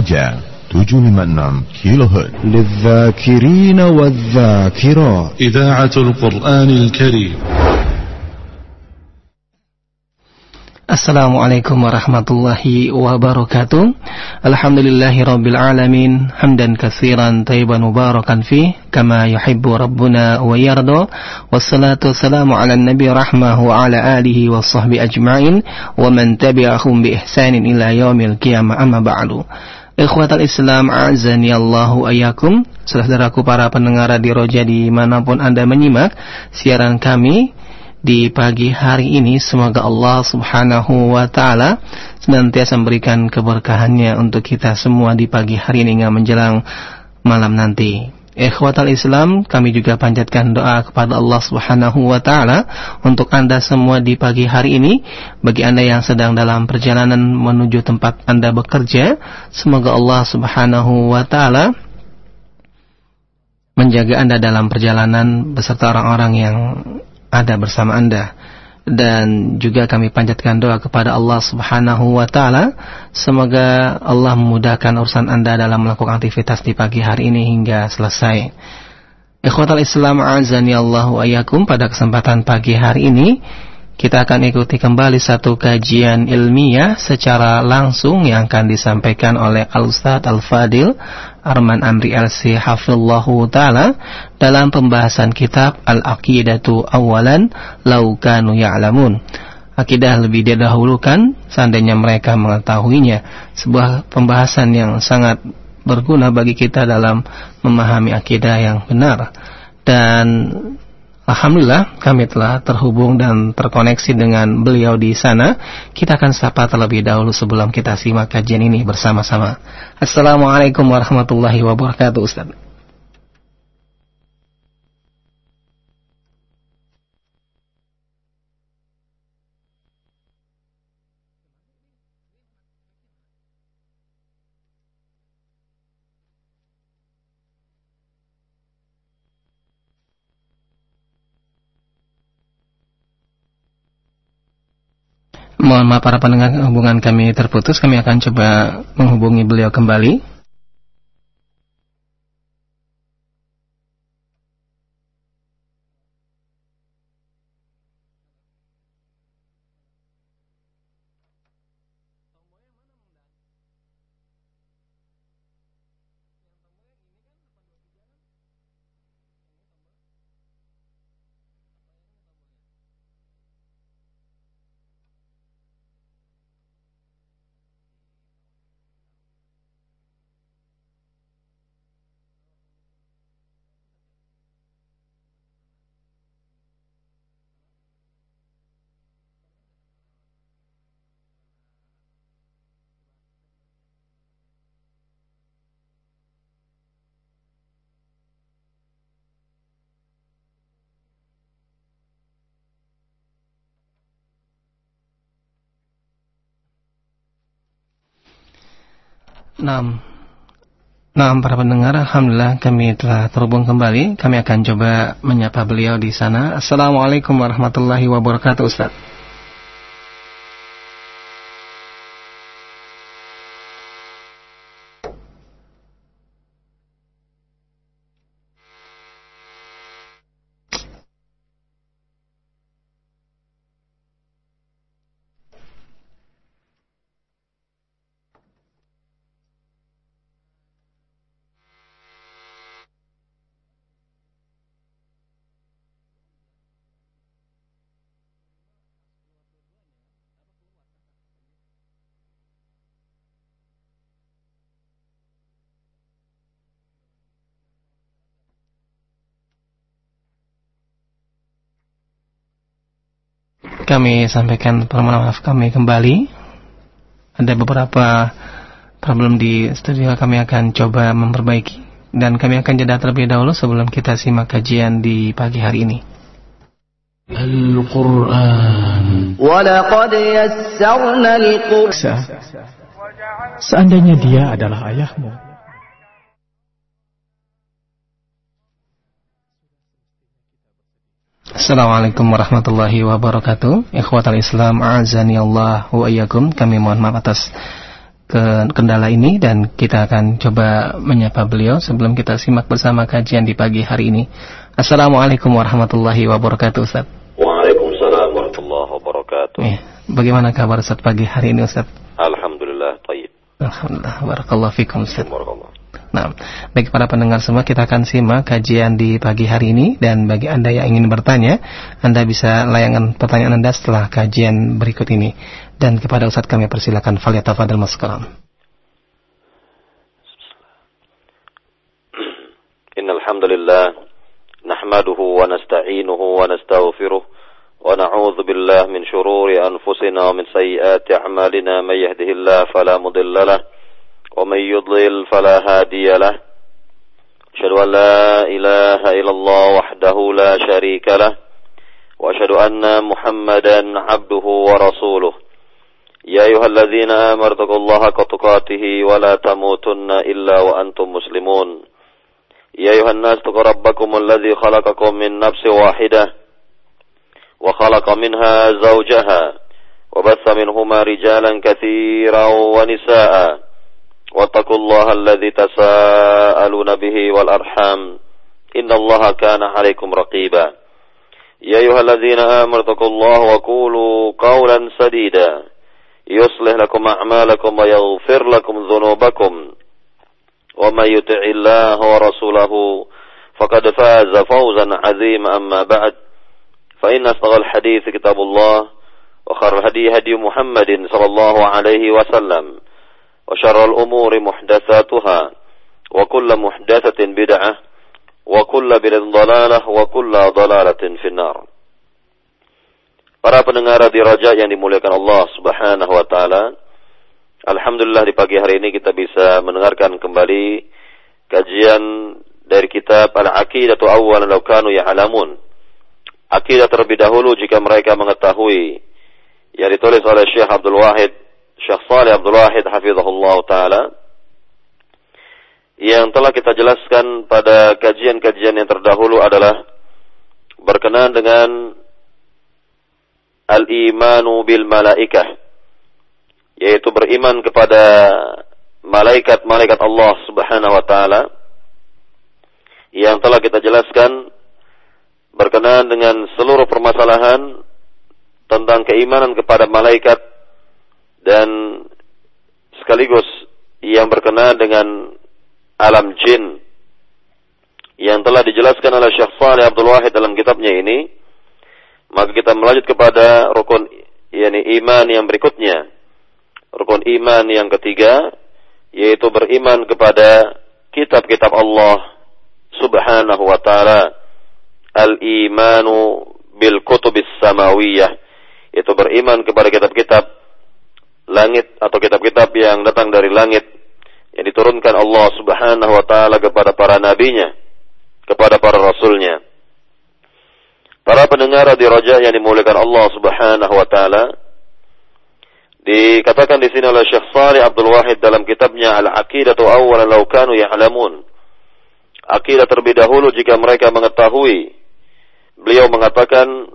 Roja 756 kHz للذاكرين والذاكرات إذاعة القرآن الكريم. Assalamualaikum warahmatullahi wabarakatuh. Alhamdulillahirabbil alamin, hamdan katsiran thayyiban mubarakan fi kama yuhibbu rabbuna wa yarda. Wassalatu wassalamu ala nabi rahmah wa ala alihi washabbi ajma'in wa man tabi'ahum bi ihsanin ila yaumil qiyamah, amma ba'du. Ikhwatal Islam, a'azani Allahu ayyakum. Saudaraku para pendengar Radio Roja dimanapun Anda menyimak siaran kami di pagi hari ini, semoga Allah subhanahu wa ta'ala senantiasa memberikan keberkahannya untuk kita semua di pagi hari ini hingga menjelang malam nanti. Ikhwatal Islam, kami juga panjatkan doa kepada Allah subhanahu wa ta'ala untuk Anda semua di pagi hari ini. Bagi Anda yang sedang dalam perjalanan menuju tempat Anda bekerja, semoga Allah subhanahu wa ta'ala menjaga Anda dalam perjalanan beserta orang-orang yang ada bersama Anda. Dan juga kami panjatkan doa kepada Allah subhanahu wa ta'ala, semoga Allah memudahkan urusan Anda dalam melakukan aktivitas di pagi hari ini hingga selesai. Ikhwatal Islam, a'azani Allahu ayyakum. Pada kesempatan pagi hari ini kita akan ikuti kembali satu kajian ilmiah secara langsung yang akan disampaikan oleh Al-Ustadz Al-Fadil Arman Amri LC hafizallahu ta'ala dalam pembahasan kitab Al-Aqidatu Awalan Lau Kanu Ya'lamun. Akidah lebih didahulukan seandainya mereka mengetahuinya. Sebuah pembahasan yang sangat berguna bagi kita dalam memahami akidah yang benar. Dan alhamdulillah kami telah terhubung dan terkoneksi dengan beliau di sana. Kita akan sapa terlebih dahulu sebelum kita simak kajian ini bersama-sama. Assalamualaikum warahmatullahi wabarakatuh, Ustaz. Mohon maaf para pendengar, hubungan kami terputus. Kami akan coba menghubungi beliau kembali. Nah, para pendengar, alhamdulillah kami telah terhubung kembali. Kami akan coba menyapa beliau di sana. Assalamualaikum warahmatullahi wabarakatuh, Ustaz. Kami sampaikan permohonan maaf kami kembali. Ada beberapa problem di studio, kami akan coba memperbaiki. Dan kami akan jeda terlebih dahulu sebelum kita simak kajian di pagi hari ini. Al-Quran. Walaqad yassarna al-Quran. Seandainya dia adalah ayahmu, Assalamualaikum warahmatullahi wabarakatuh. Ikhwatal Islam, a'azani Allah wa iyyakum. Kami mohon maaf atas kendala ini dan kita akan coba menyapa beliau sebelum kita simak bersama kajian di pagi hari ini. Assalamualaikum warahmatullahi wabarakatuh, Ustaz. Waalaikumsalam warahmatullahi wabarakatuh. Bagaimana kabar Ustaz pagi hari ini, Ustaz? Alhamdulillah, tayyib. Alhamdulillah, barakallahu fikum, Ustaz. Nah, baik para pendengar semua, kita akan simak kajian di pagi hari ini, dan bagi Anda yang ingin bertanya, Anda bisa layangkan pertanyaan Anda setelah kajian berikut ini. Dan kepada Ustaz kami persilakan, falyatafadhal maskuran. Innal hamdalillah nahmaduhu wa nasta'inuhu wa nastaghfiruh wa na'udzu billahi min shururi anfusina wa min sayyiati a'malina may yahdihillahu fala mudilla lahu ومن يضلل فلا هادي له أشهد أن لا إله إلا الله وحده لا شريك له وأشهد أن محمدا عبده ورسوله يا أيها الذين آمنوا اتقوا الله حق تقاته ولا تموتن إلا وأنتم مسلمون يا أيها الناس اتقوا ربكم الذي خلقكم من نفس واحدة وخلق منها زوجها وبث منهما رجالا كثيرا ونساء واتقوا الله الذي تساءلون به والأرحام إن الله كان عليكم رقيبا يا أيها الذين آمنوا اتقوا الله وقولوا قولا سديدا يصلح لكم أعمالكم ويغفر لكم ذنوبكم ومن يطع الله ورسوله فقد فاز فوزا عظيما أما بعد فإن أصدق الحديث كتاب الله وخير الهدي هدي محمد صلى الله عليه وسلم وشر الأمور محدثاتها وكل محدثة بدعة وكل بدعة ضلالة وكل ضلالة في النار. Para pendengar di Raja yang dimuliakan Allah Subhanahu wa taala, alhamdulillah di pagi hari ini kita bisa mendengarkan kembali kajian dari kitab Al-Aqidatu Awwalan Law Kanu Ya'lamun. Akidah terlebih dahulu jika mereka mengetahui, yang ditulis oleh Syekh Shalih Abdul Wahid hafizahullah ta'ala, yang telah kita jelaskan pada kajian-kajian yang terdahulu adalah berkenaan dengan al-imanu bil malaikah, yaitu beriman kepada malaikat-malaikat Allah Subhanahu wa ta'ala, yang telah kita jelaskan berkenaan dengan seluruh permasalahan tentang keimanan kepada malaikat dan sekaligus yang berkenaan dengan alam jin yang telah dijelaskan oleh Syekh Shalih Abdul Wahid dalam kitabnya ini. Maka kita melanjut kepada rukun iman yang berikutnya, rukun iman yang ketiga, yaitu beriman kepada kitab-kitab Allah Subhanahu wa ta'ala, al-imanu bil kutubis samawiyah, yaitu beriman kepada kitab-kitab langit atau kitab-kitab yang datang dari langit yang diturunkan Allah Subhanahu wa ta'ala kepada para nabinya, kepada para rasulnya. Para pendengar di Raja yang dimuliakan Allah Subhanahu wa ta'ala, dikatakan di sini oleh Syekh Shalih Abdul Wahid dalam kitabnya Al-Aqidatu Awwalan Law Kanu Ya'lamun, akidah terlebih dahulu jika mereka mengetahui. Beliau mengatakan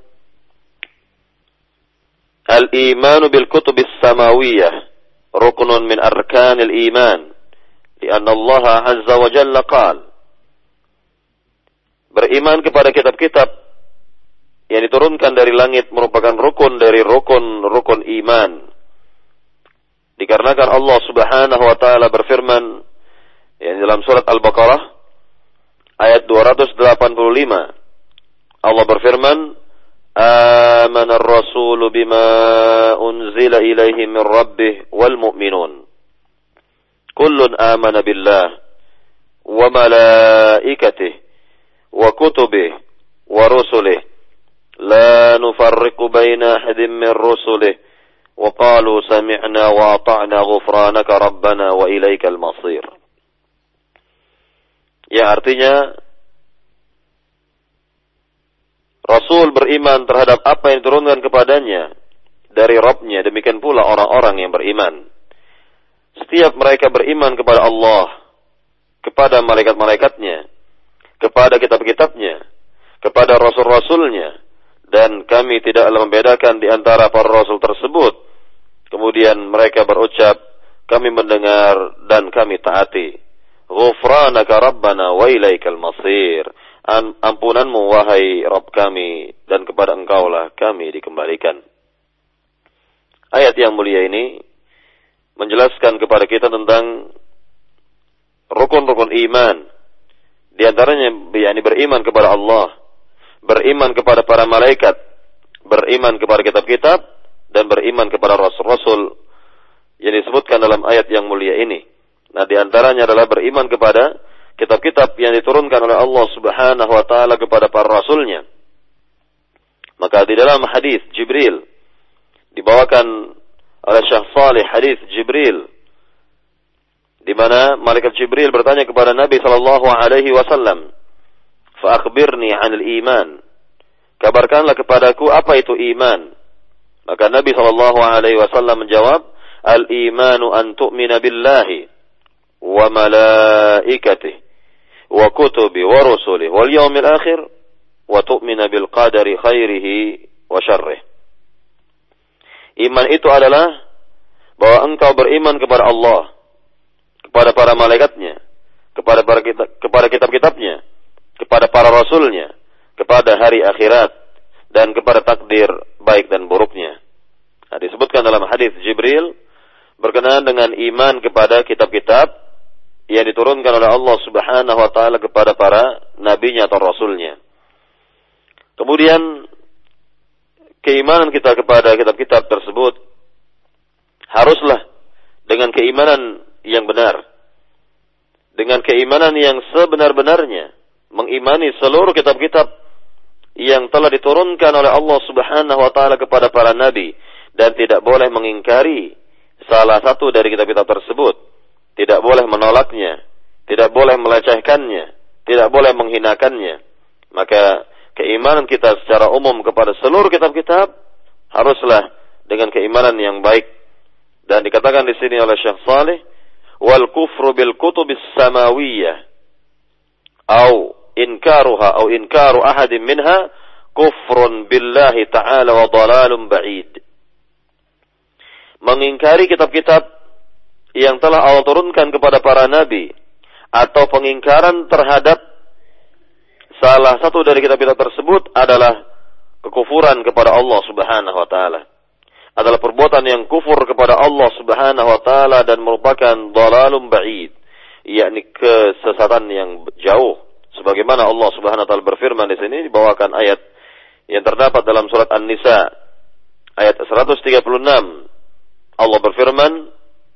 al-imanu bil kutubis samawiyah ruknun min arkanil iman lianna Allah azza wa jalla qala, beriman kepada kitab-kitab yang diturunkan dari langit merupakan rukun dari rukun iman, dikarenakan Allah Subhanahu wa taala berfirman yang dalam surat Al-Baqarah ayat 285, Allah berfirman, آمن الرسول بما أنزل إليه من ربه والمؤمنون كل آمن بالله وملائكته وكتبه ورسله لا نفرق بين أحد من رسله وقالوا سمعنا وأطعنا غفرانك ربنا وإليك المصير. Ya, artinya Rasul beriman terhadap apa yang diturunkan kepadanya dari Rabb-Nya, demikian pula orang-orang yang beriman. Setiap mereka beriman kepada Allah, kepada malaikat-malaikatnya, kepada kitab-kitabnya, kepada rasul-rasulnya, dan kami tidaklah membedakan di antara para rasul tersebut. Kemudian mereka berucap, kami mendengar dan kami taati. Ghufranaka Rabbana wa ilaikal masir. Ampunanmu wahai Rabb kami, dan kepada Engkaulah kami dikembalikan. Ayat yang mulia ini menjelaskan kepada kita tentang rukun-rukun iman. Di antaranya yakni beriman kepada Allah, beriman kepada para malaikat, beriman kepada kitab-kitab, dan beriman kepada rasul-rasul yang disebutkan dalam ayat yang mulia ini. Nah, di antaranya adalah beriman kepada kitab-kitab yang diturunkan oleh Allah Subhanahu wa taala kepada para rasulnya. Maka di dalam hadis Jibril dibawakan oleh Syekh Salih, hadis Jibril, di mana malaikat Jibril bertanya kepada Nabi sallallahu alaihi wasallam, "Fa akhbirni 'anil iman." Kabarkanlah kepadaku apa itu iman. Maka Nabi sallallahu alaihi wasallam menjawab, "Al-imanu an tu'mina billahi wa malaikatihi wa kutubi wa rusulihi wal yawmil akhir wa tu'mina bil qadari khairihi wa syarrih." Iman itu adalah bahwa engkau beriman kepada Allah, kepada para malaikatnya, kepada kitab-kitabnya, kepada para rasulnya, kepada hari akhirat, dan kepada takdir baik dan buruknya. Nah, disebutkan dalam hadis Jibril berkenaan dengan iman kepada kitab-kitab yang diturunkan oleh Allah Subhanahu wa taala kepada para nabinya atau rasulnya. Kemudian keimanan kita kepada kitab-kitab tersebut haruslah dengan keimanan yang benar, dengan keimanan yang sebenar-benarnya, mengimani seluruh kitab-kitab yang telah diturunkan oleh Allah Subhanahu wa taala kepada para nabi, dan tidak boleh mengingkari salah satu dari kitab-kitab tersebut. Tidak boleh menolaknya, tidak boleh melecehkannya, tidak boleh menghinakannya. Maka keimanan kita secara umum kepada seluruh kitab-kitab haruslah dengan keimanan yang baik. Dan dikatakan di sini oleh Syekh Salih, wal kufru bil kutubis samawiyah au inkaruha au inkaru ahadin minha kufrun billahi ta'ala wa dalalun ba'id. Mengingkari kitab-kitab yang telah Allah turunkan kepada para nabi, atau pengingkaran terhadap salah satu dari kitab-kitab tersebut adalah kekufuran kepada Allah Subhanahu wa taala. Adalah perbuatan yang kufur kepada Allah Subhanahu wa taala dan merupakan dhalalun ba'id, yakni kesesatan yang jauh. Sebagaimana Allah Subhanahu wa taala berfirman di sini, dibawakan ayat yang terdapat dalam surat An-Nisa ayat 136. Allah berfirman,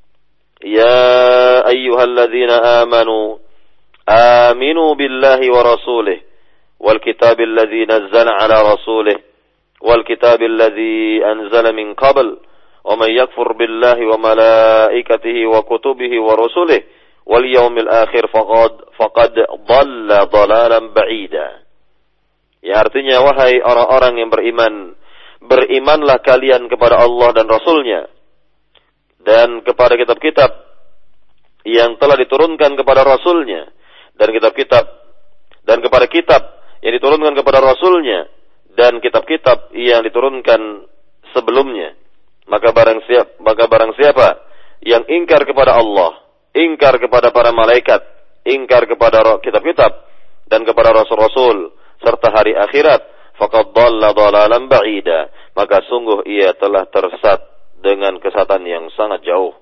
"Ya ayyuhalladzina amanu aminu billahi wa rasulih wal kitabil ladzi nazzala ala rasulih wal kitabil ladzi anzala min qabl wa man yakfur billahi wa malaikatihi wa kutubihi wa rusulihi wal yawmil akhir faqad dhalla dhalalan ba'ida." Ya, artinya, wahai orang-orang yang beriman, berimanlah kalian kepada Allah dan Rasulnya, dan kepada kitab-kitab yang telah diturunkan kepada Rasulnya, dan kitab-kitab, dan kepada kitab yang diturunkan kepada Rasulnya, dan kitab-kitab yang diturunkan sebelumnya. Maka barang siapa yang ingkar kepada Allah, ingkar kepada para malaikat, ingkar kepada kitab-kitab dan kepada rasul-rasul serta hari akhirat, faqad dhalla dhalalan ba'ida, maka sungguh ia telah tersesat dengan kesesatan yang sangat jauh.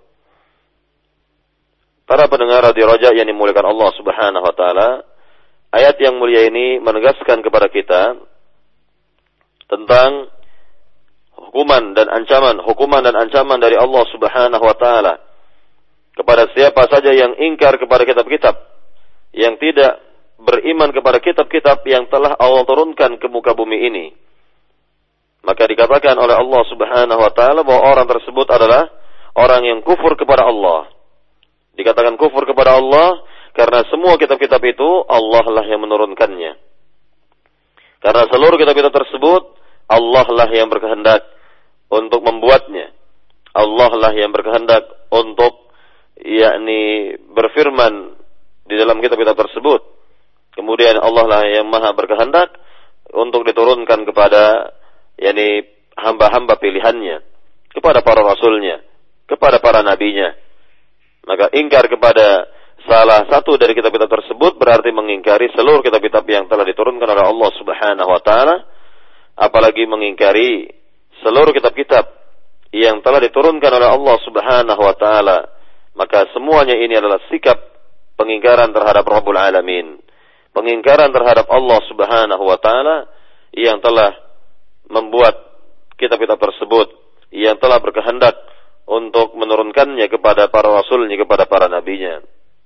Para pendengar radio Raja yang dimuliakan Allah Subhanahu wa taala, ayat yang mulia ini menegaskan kepada kita tentang hukuman dan ancaman dari Allah Subhanahu wa taala kepada siapa saja yang ingkar kepada kitab-kitab, yang tidak beriman kepada kitab-kitab yang telah Allah turunkan ke muka bumi ini. Maka dikatakan oleh Allah Subhanahu wa taala bahwa orang tersebut adalah orang yang kufur kepada Allah. Dikatakan kufur kepada Allah karena semua kitab-kitab itu Allah lah yang menurunkannya. Karena seluruh kitab-kitab tersebut Allah lah yang berkehendak untuk membuatnya. Allah lah yang berkehendak untuk yakni berfirman di dalam kitab-kitab tersebut. Kemudian Allah lah yang maha berkehendak untuk diturunkan kepada yakni hamba-hamba pilihannya, kepada para rasulnya, kepada para nabinya. Maka ingkar kepada salah satu dari kitab-kitab tersebut berarti mengingkari seluruh kitab-kitab yang telah diturunkan oleh Allah Subhanahu wa taala, apalagi mengingkari seluruh kitab-kitab yang telah diturunkan oleh Allah Subhanahu wa taala. Maka semuanya ini adalah sikap pengingkaran terhadap Rabbul Alamin, pengingkaran terhadap Allah Subhanahu wa taala yang telah membuat kitab-kitab tersebut, yang telah berkehendak untuk menurunkannya kepada para rasulnya, kepada para nabinya.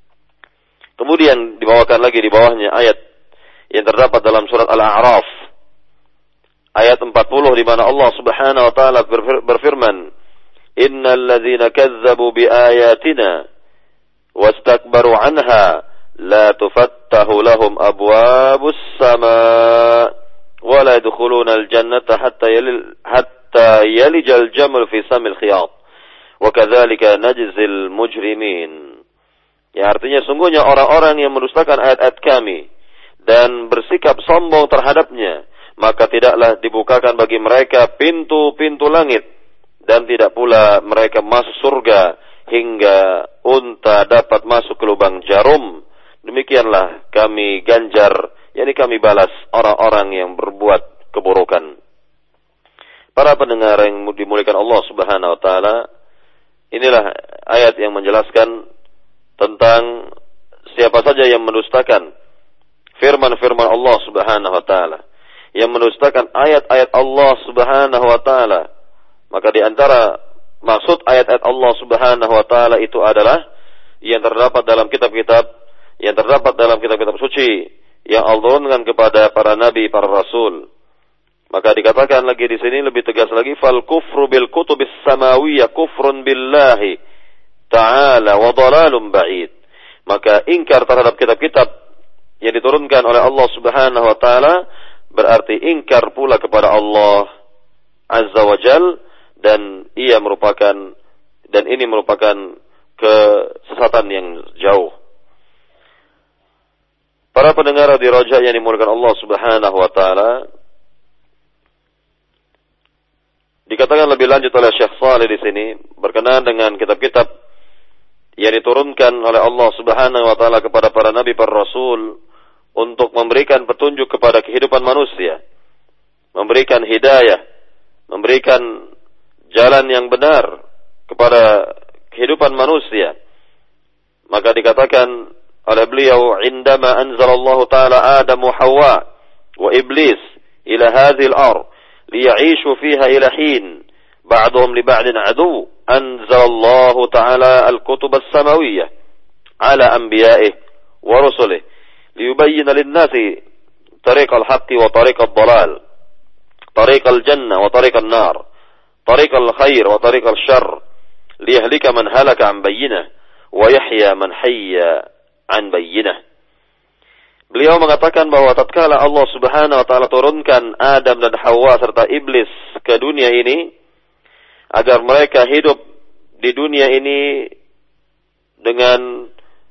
Kemudian dibawakan lagi di bawahnya ayat yang terdapat dalam surat Al-A'raf ayat 40 di mana Allah Subhanahu wa taala berfirman, "Innal ladzina kazzabu biayatina wastakbaru 'anha la tufattahu lahum abwabus samaa wa la yadkhuluna al-jannata hatta yalijal jamal fi samil khiyat." Wa kadzalika najzil mujrimin. Ya, artinya sungguhnya orang-orang yang mendustakan ayat-ayat kami dan bersikap sombong terhadapnya, maka tidaklah dibukakan bagi mereka pintu-pintu langit dan tidak pula mereka masuk surga hingga unta dapat masuk ke lubang jarum. Demikianlah kami ganjar, yakni kami balas orang-orang yang berbuat keburukan. Para pendengar yang dimuliakan Allah Subhanahu wa taala, inilah ayat yang menjelaskan tentang siapa saja yang mendustakan firman-firman Allah Subhanahu wa taala, yang mendustakan ayat-ayat Allah Subhanahu wa taala. Maka di antara maksud ayat-ayat Allah Subhanahu wa taala itu adalah yang terdapat dalam kitab-kitab, yang terdapat dalam kitab-kitab suci yang Allah turunkan kepada para nabi, para rasul. Maka dikatakan lagi di sini lebih tegas lagi, fal kufru bil kutubis samawiyyah kufrun billahi ta'ala wa dhalalun ba'id. Maka ingkar terhadap kitab-kitab yang diturunkan oleh Allah Subhanahu wa taala berarti ingkar pula kepada Allah Azza wa Jal, dan ini merupakan kesesatan yang jauh. Para pendengar di Raja yang dimuliakan Allah Subhanahu wa taala, dikatakan lebih lanjut oleh Syekh Shalih di sini berkenaan dengan kitab-kitab yang diturunkan oleh Allah Subhanahu wa taala kepada para nabi, para rasul untuk memberikan petunjuk kepada kehidupan manusia, memberikan hidayah, memberikan jalan yang benar kepada kehidupan manusia. Maka dikatakan oleh beliau, indama anzalallahu ta'ala Adam wa Hawa wa Iblis ila hadhil ard liya'ishu fiha ila hin ba'duhum li ba'din adu, anzalallahu ta'ala al-kutub as-samawiyyah ala anbiya'ih wa rusulih liyubayyina lin-nasi tariq al-haqqi wa tariq ad-dhalal, tariq al-jannah wa tariq an-nar, tariq al-khair wa tariq al-syarr, liyahlika man halaka an bayyinah wa yahya man hayya an bayyinah. Beliau mengatakan bahwa tatkala Allah Subhanahu wa taala turunkan Adam dan Hawa serta iblis ke dunia ini agar mereka hidup di dunia ini dengan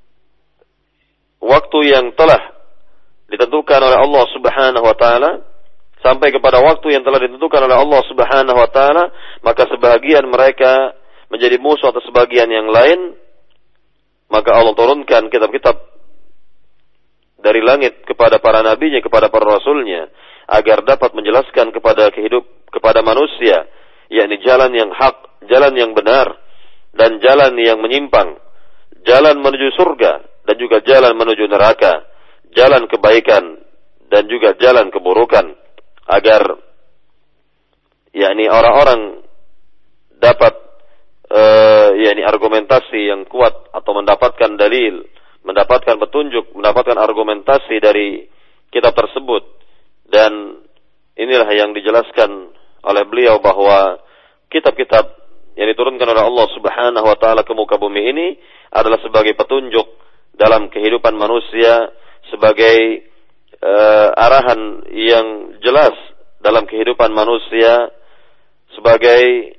waktu yang telah ditentukan oleh Allah Subhanahu wa taala sampai kepada waktu yang telah ditentukan oleh Allah Subhanahu wa taala, maka sebagian mereka menjadi musuh atas sebagian yang lain. Maka Allah turunkan kitab-kitab dari langit kepada para nabinya, kepada para rasulnya, agar dapat menjelaskan kepada manusia, yakni jalan yang hak, jalan yang benar, dan jalan yang menyimpang, jalan menuju surga, dan juga jalan menuju neraka, jalan kebaikan, dan juga jalan keburukan, agar yakni orang-orang dapat yakni argumentasi yang kuat atau mendapatkan dalil, mendapatkan petunjuk, mendapatkan argumentasi dari kitab tersebut. Dan inilah yang dijelaskan oleh beliau bahwa kitab-kitab yang diturunkan oleh Allah Subhanahu wa taala ke muka bumi ini adalah sebagai petunjuk dalam kehidupan manusia, sebagai arahan yang jelas dalam kehidupan manusia, sebagai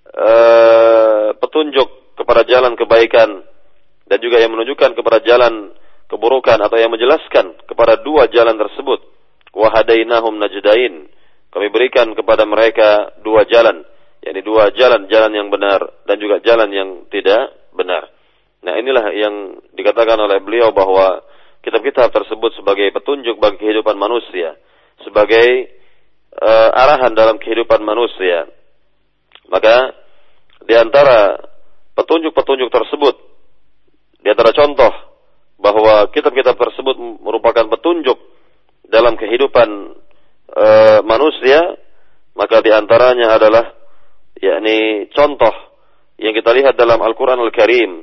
petunjuk kepada jalan kebaikan, dan juga yang menunjukkan kepada jalan keburukan, atau yang menjelaskan kepada dua jalan tersebut. Wa hadainahum najdain, kami berikan kepada mereka dua jalan, yakni dua jalan, jalan yang benar dan juga jalan yang tidak benar. Nah, inilah yang dikatakan oleh beliau bahwa kitab-kitab tersebut sebagai petunjuk bagi kehidupan manusia, sebagai arahan dalam kehidupan manusia. Maka di antara petunjuk-petunjuk tersebut, di antara contoh bahwa kitab-kitab tersebut merupakan petunjuk dalam kehidupan manusia, maka di antaranya adalah yakni contoh yang kita lihat dalam Al-Qur'an Al-Karim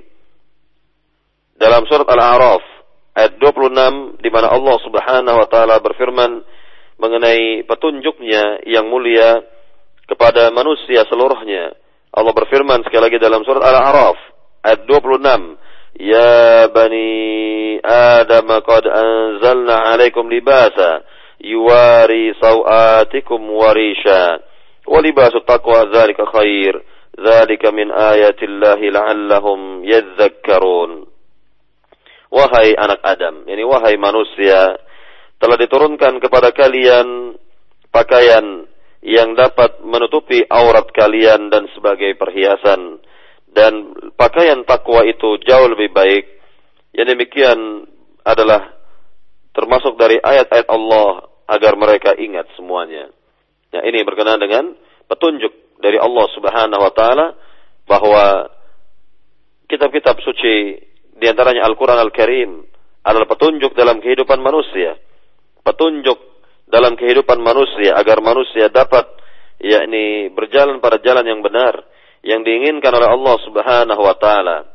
dalam surat Al-A'raf ayat 26, di mana Allah Subhanahu wa taala berfirman mengenai petunjuknya yang mulia kepada manusia seluruhnya. Allah berfirman sekali lagi dalam surat Al-A'raf ayat 26, "Ya bani Adam qad anzalna 'alaikum libasa yuwari sawatikum warisha wa libasut taqwa dzalika khair dzalika min ayatillahi la'allahum yadhakkarun." Wahai anak Adam, yani wahai manusia, telah diturunkan kepada kalian pakaian yang dapat menutupi aurat kalian dan sebagai perhiasan, dan pakaian takwa itu jauh lebih baik. Yang demikian adalah termasuk dari ayat-ayat Allah agar mereka ingat semuanya. Nah, ini berkenaan dengan petunjuk dari Allah Subhanahu wa taala bahwa kitab-kitab suci di antaranya Al-Qur'an Al-Karim adalah petunjuk dalam kehidupan manusia. Petunjuk dalam kehidupan manusia agar manusia dapat yakni berjalan pada jalan yang benar yang diinginkan oleh Allah Subhanahu wa taala.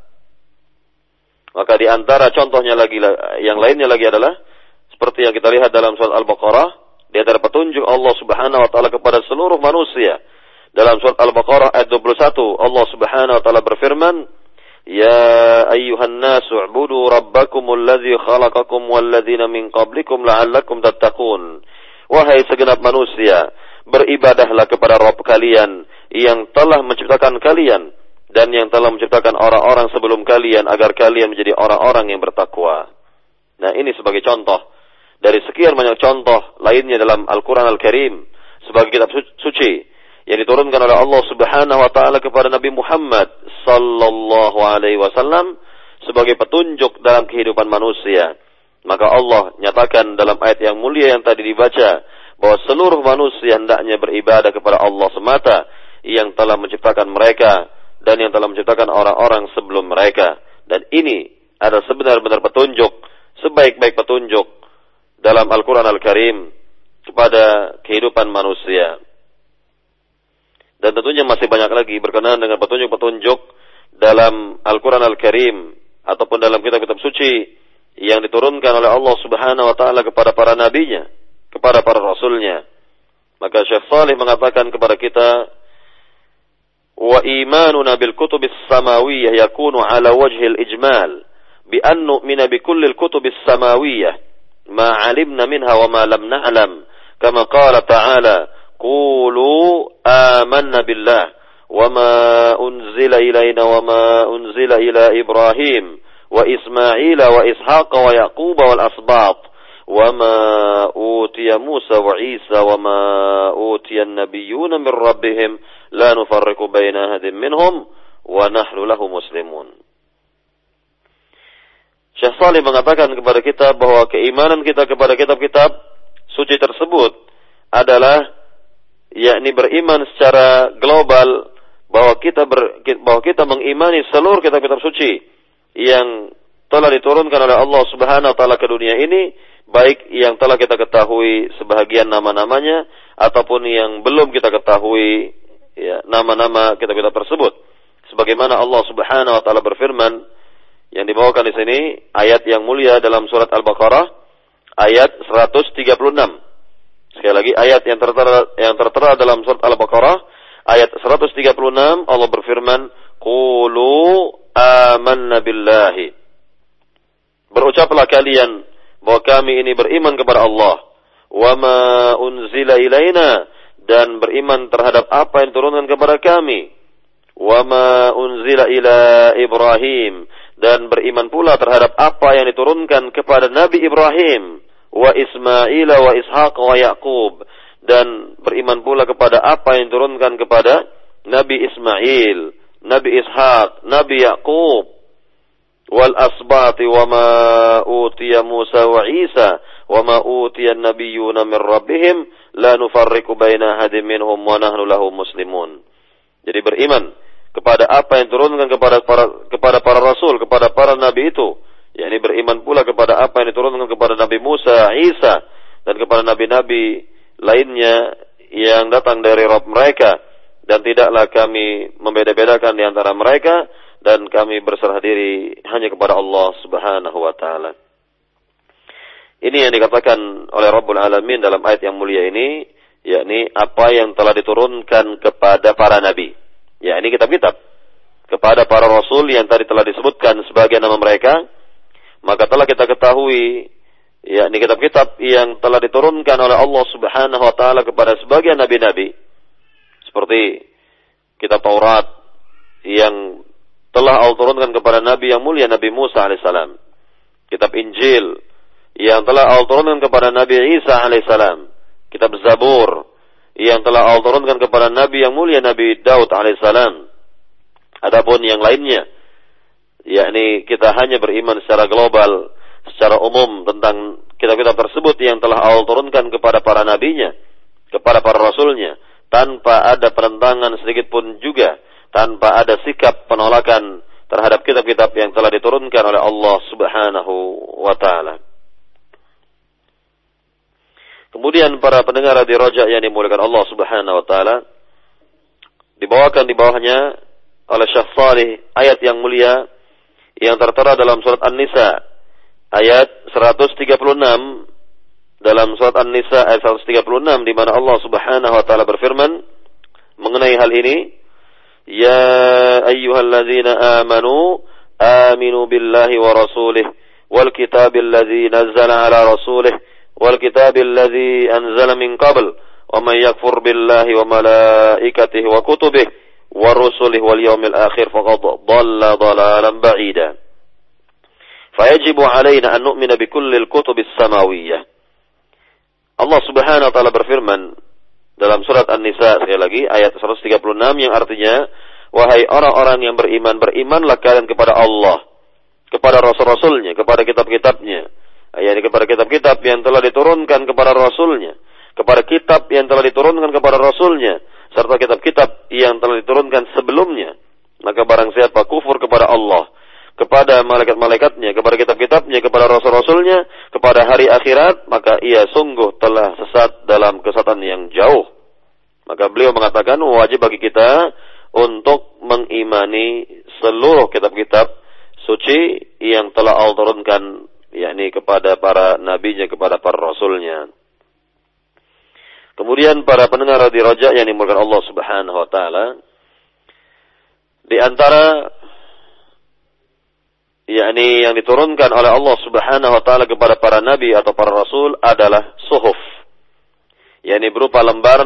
Maka di antara contohnya lagi yang lainnya lagi adalah seperti yang kita lihat dalam surat Al-Baqarah, di antara petunjuk Allah Subhanahu wa taala kepada seluruh manusia. Dalam surat Al-Baqarah ayat 21, Allah Subhanahu wa taala berfirman, "Ya ayyuhan nasu u'budu rabbakumul ladzi khalaqakum wal ladzina min qablikum la'allakum tattaqun." Wahai segenap manusia, beribadahlah kepada Rabb kalian yang telah menciptakan kalian dan yang telah menciptakan orang-orang sebelum kalian agar kalian menjadi orang-orang yang bertakwa. Nah, ini sebagai contoh dari sekian banyak contoh lainnya dalam Al-Qur'an Al-Karim sebagai kitab suci yang diturunkan oleh Allah Subhanahu wa taala kepada Nabi Muhammad sallallahu alaihi wasallam sebagai petunjuk dalam kehidupan manusia. Maka Allah nyatakan dalam ayat yang mulia yang tadi dibaca bahwa seluruh manusia hendaknya beribadah kepada Allah semata yang telah menciptakan mereka dan yang telah menciptakan orang-orang sebelum mereka. Dan ini adalah sebenar-benar petunjuk, sebaik-baik petunjuk dalam Al-Qur'an Al-Karim kepada kehidupan manusia. Dan tentunya masih banyak lagi berkenaan dengan petunjuk-petunjuk dalam Al-Qur'an Al-Karim ataupun dalam kitab-kitab suci yang diturunkan oleh Allah Subhanahu wa taala kepada para nabinya, kepada para rasulnya. Maka Syekh Salih mengatakan kepada kita, "Wa imanuna bil kutubis samawiyyah yakunu ala wajhil ijmal bi an nu'mina bi kullil kutubis samawiyyah ma 'alimna minha wa ma lam na'lam kama qala ta'ala qulu amanna billah wa ma unzila ilayna wa ma unzila ila Ibrahim wa Ismaila wa Ishaqa wa Yaquba wal asbat wa ma utiya Musa wa Isa wa ma utiya an-nabiyyuna min rabbihim la nufarriqu baina ahadin minhum wa nahnu lahu muslimun." Syekh Salih mengatakan kepada kita bahwa keimanan kita kepada kitab-kitab suci tersebut adalah yakni beriman secara global bahwa kita mengimani seluruh kitab-kitab suci yang telah diturunkan oleh Allah Subhanahu wa taala ke dunia ini, baik yang telah kita ketahui sebahagian nama-namanya ataupun yang belum kita ketahui ya, nama-nama kitab-kitab tersebut. Sebagaimana Allah Subhanahu wa taala berfirman yang dibawakan di sini ayat yang mulia dalam surat Al-Baqarah ayat 136. Sekali lagi ayat yang tertera dalam surat Al-Baqarah ayat 136, Allah berfirman, "Qulu amanna billahi." Berucaplah kalian bahwa kami ini beriman kepada Allah, wa ma unzila ilaina, dan beriman terhadap apa yang diturunkan kepada kami, wa ma unzila ila Ibrahim, dan beriman pula terhadap apa yang diturunkan kepada Nabi Ibrahim, wa Ismaila wa Ishaq wa Yaqub, dan beriman pula kepada apa yang diturunkan kepada Nabi Ismail, Nabi Ishaq, Nabi Yaqub, wal asbati wa ma utiya Musa wa Isa wa ma utiya an-nabiyyuna min rabbihim la nufarriqu baina ahadin minhum wa nahnu lahu muslimun. Jadi beriman kepada apa yang diturunkan kepada para rasul, kepada para nabi itu, yakni beriman pula kepada apa yang diturunkan kepada Nabi Musa, Isa dan kepada nabi-nabi lainnya yang datang dari Rabb mereka, dan tidaklah kami membeda-bedakan di antara mereka, dan kami berserah diri hanya kepada Allah Subhanahu wa taala. Ini yang dikatakan oleh Rabbul Alamin dalam ayat yang mulia ini, yakni apa yang telah diturunkan kepada para nabi, yakni kitab-kitab, kepada para rasul yang tadi telah disebutkan sebagai nama mereka. Maka telah kita ketahui, yakni kitab-kitab yang telah diturunkan oleh Allah Subhanahu wa taala kepada sebagian nabi-nabi, seperti kitab Taurat yang telah Allah turunkan kepada Nabi yang mulia Nabi Musa alaihissalam, kitab Injil yang telah Allah turunkan kepada Nabi Isa alaihissalam, kitab Zabur yang telah Allah turunkan kepada Nabi yang mulia Nabi Daud alaihissalam. Adapun yang lainnya, yakni kita hanya beriman secara global, secara umum tentang kitab-kitab tersebut yang telah Allah turunkan kepada para nabinya, kepada para rasulnya, tanpa ada penentangan sedikit pun juga, tanpa ada sikap penolakan terhadap kitab-kitab yang telah diturunkan oleh Allah Subhanahu wa taala. Kemudian para pendengar di Raja yang dimuliakan Allah Subhanahu wa taala, dibawakan di bawahnya oleh Syekh Shalih ayat yang mulia yang tertera dalam surat An-Nisa ayat 136, dalam surat An-Nisa ayat 136, di mana Allah Subhanahu wa taala berfirman mengenai hal ini, ya ayyuhalladzina amanu aminu billahi wa rasulih wal kitabil ladzi nazzala ala rasulih wal kitabil ladzi anzala min qabl wa man yakfur billahi wa malaikatihi wa kutubihi wa rusulihi wal yawmil akhir faqad dhalla dhalalan ba'ida. Fayajibu alaina an nu'mina bi kullil kutubis samawiyyah. Allah Subhanahu wa taala berfirman dalam surat An-Nisa sekali lagi ayat 136 yang artinya, wahai orang-orang yang beriman, berimanlah kalian kepada Allah, kepada rasul-rasulnya, kepada kitab-kitabnya, yakni kepada kitab-kitab yang telah diturunkan kepada rasulnya, kepada kitab yang telah diturunkan kepada rasulnya, serta kitab-kitab yang telah diturunkan sebelumnya. Maka barang siapa kufur kepada Allah, kepada malaikat-malaikatnya, kepada kitab-kitabnya, kepada rasul-rasulnya, kepada hari akhirat, maka ia sungguh telah sesat dalam kesesatan yang jauh. Maka beliau mengatakan wajib bagi kita untuk mengimani seluruh kitab-kitab suci yang telah Allah turunkan, yakni kepada para nabinya, kepada para rasulnya. Kemudian para pendengar di Raja yang dimulakan Allah Subhanahu wa taala, di antara yakni yang diturunkan oleh Allah Subhanahu wa taala kepada para nabi atau para rasul adalah suhuf, yakni berupa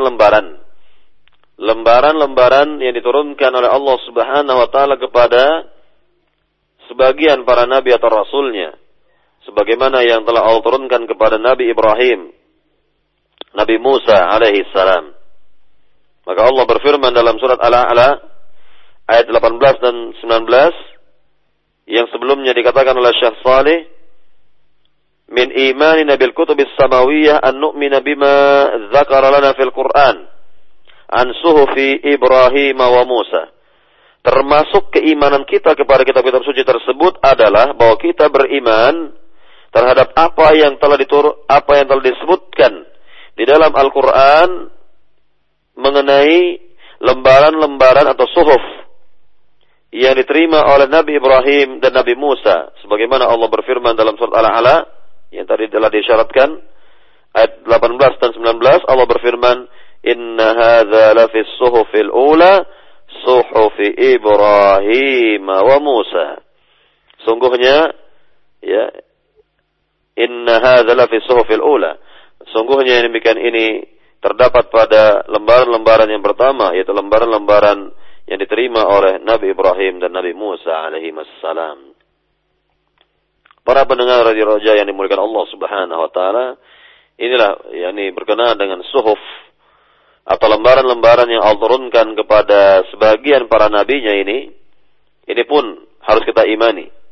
lembaran yang diturunkan oleh Allah Subhanahu wa taala kepada sebagian para nabi atau rasulnya, sebagaimana yang telah Allah turunkan kepada Nabi Ibrahim, Nabi Musa alaihi salam. Maka Allah berfirman dalam surat Al-A'la ayat 18 dan 19 yang sebelumnya dikatakan oleh Syekh Shalih, min imanina bil kutubis samawiyyah an nu'mina bima dzakara lana fil Qur'an an suhufi Ibrahim wa Musa. Termasuk keimanan kita kepada kitab-kitab suci tersebut adalah bahwa kita beriman terhadap apa yang telah disebutkan di dalam Al-Qur'an mengenai lembaran-lembaran atau suhuf yang diterima oleh Nabi Ibrahim dan Nabi Musa, sebagaimana Allah berfirman dalam surat Al-A'la yang tadi telah disyaratkan ayat 18 dan 19. Allah berfirman, inna hadza lafis suhufil ula suhufi Ibrahim wa Musa. Sungguhnya, ya, inna hadza lafis suhufil ula, sungguhnya yang demikian ini terdapat pada lembaran-lembaran yang pertama, yaitu lembaran-lembaran yang diterima oleh Nabi Ibrahim dan Nabi Musa alaihi wassalam. Para pendengar Radio Raja yang dimuliakan Allah Subhanahu wa taala, inilah yakni berkenaan dengan suhuf atau lembaran-lembaran yang Allah turunkan kepada sebagian para nabinya ini pun harus kita imani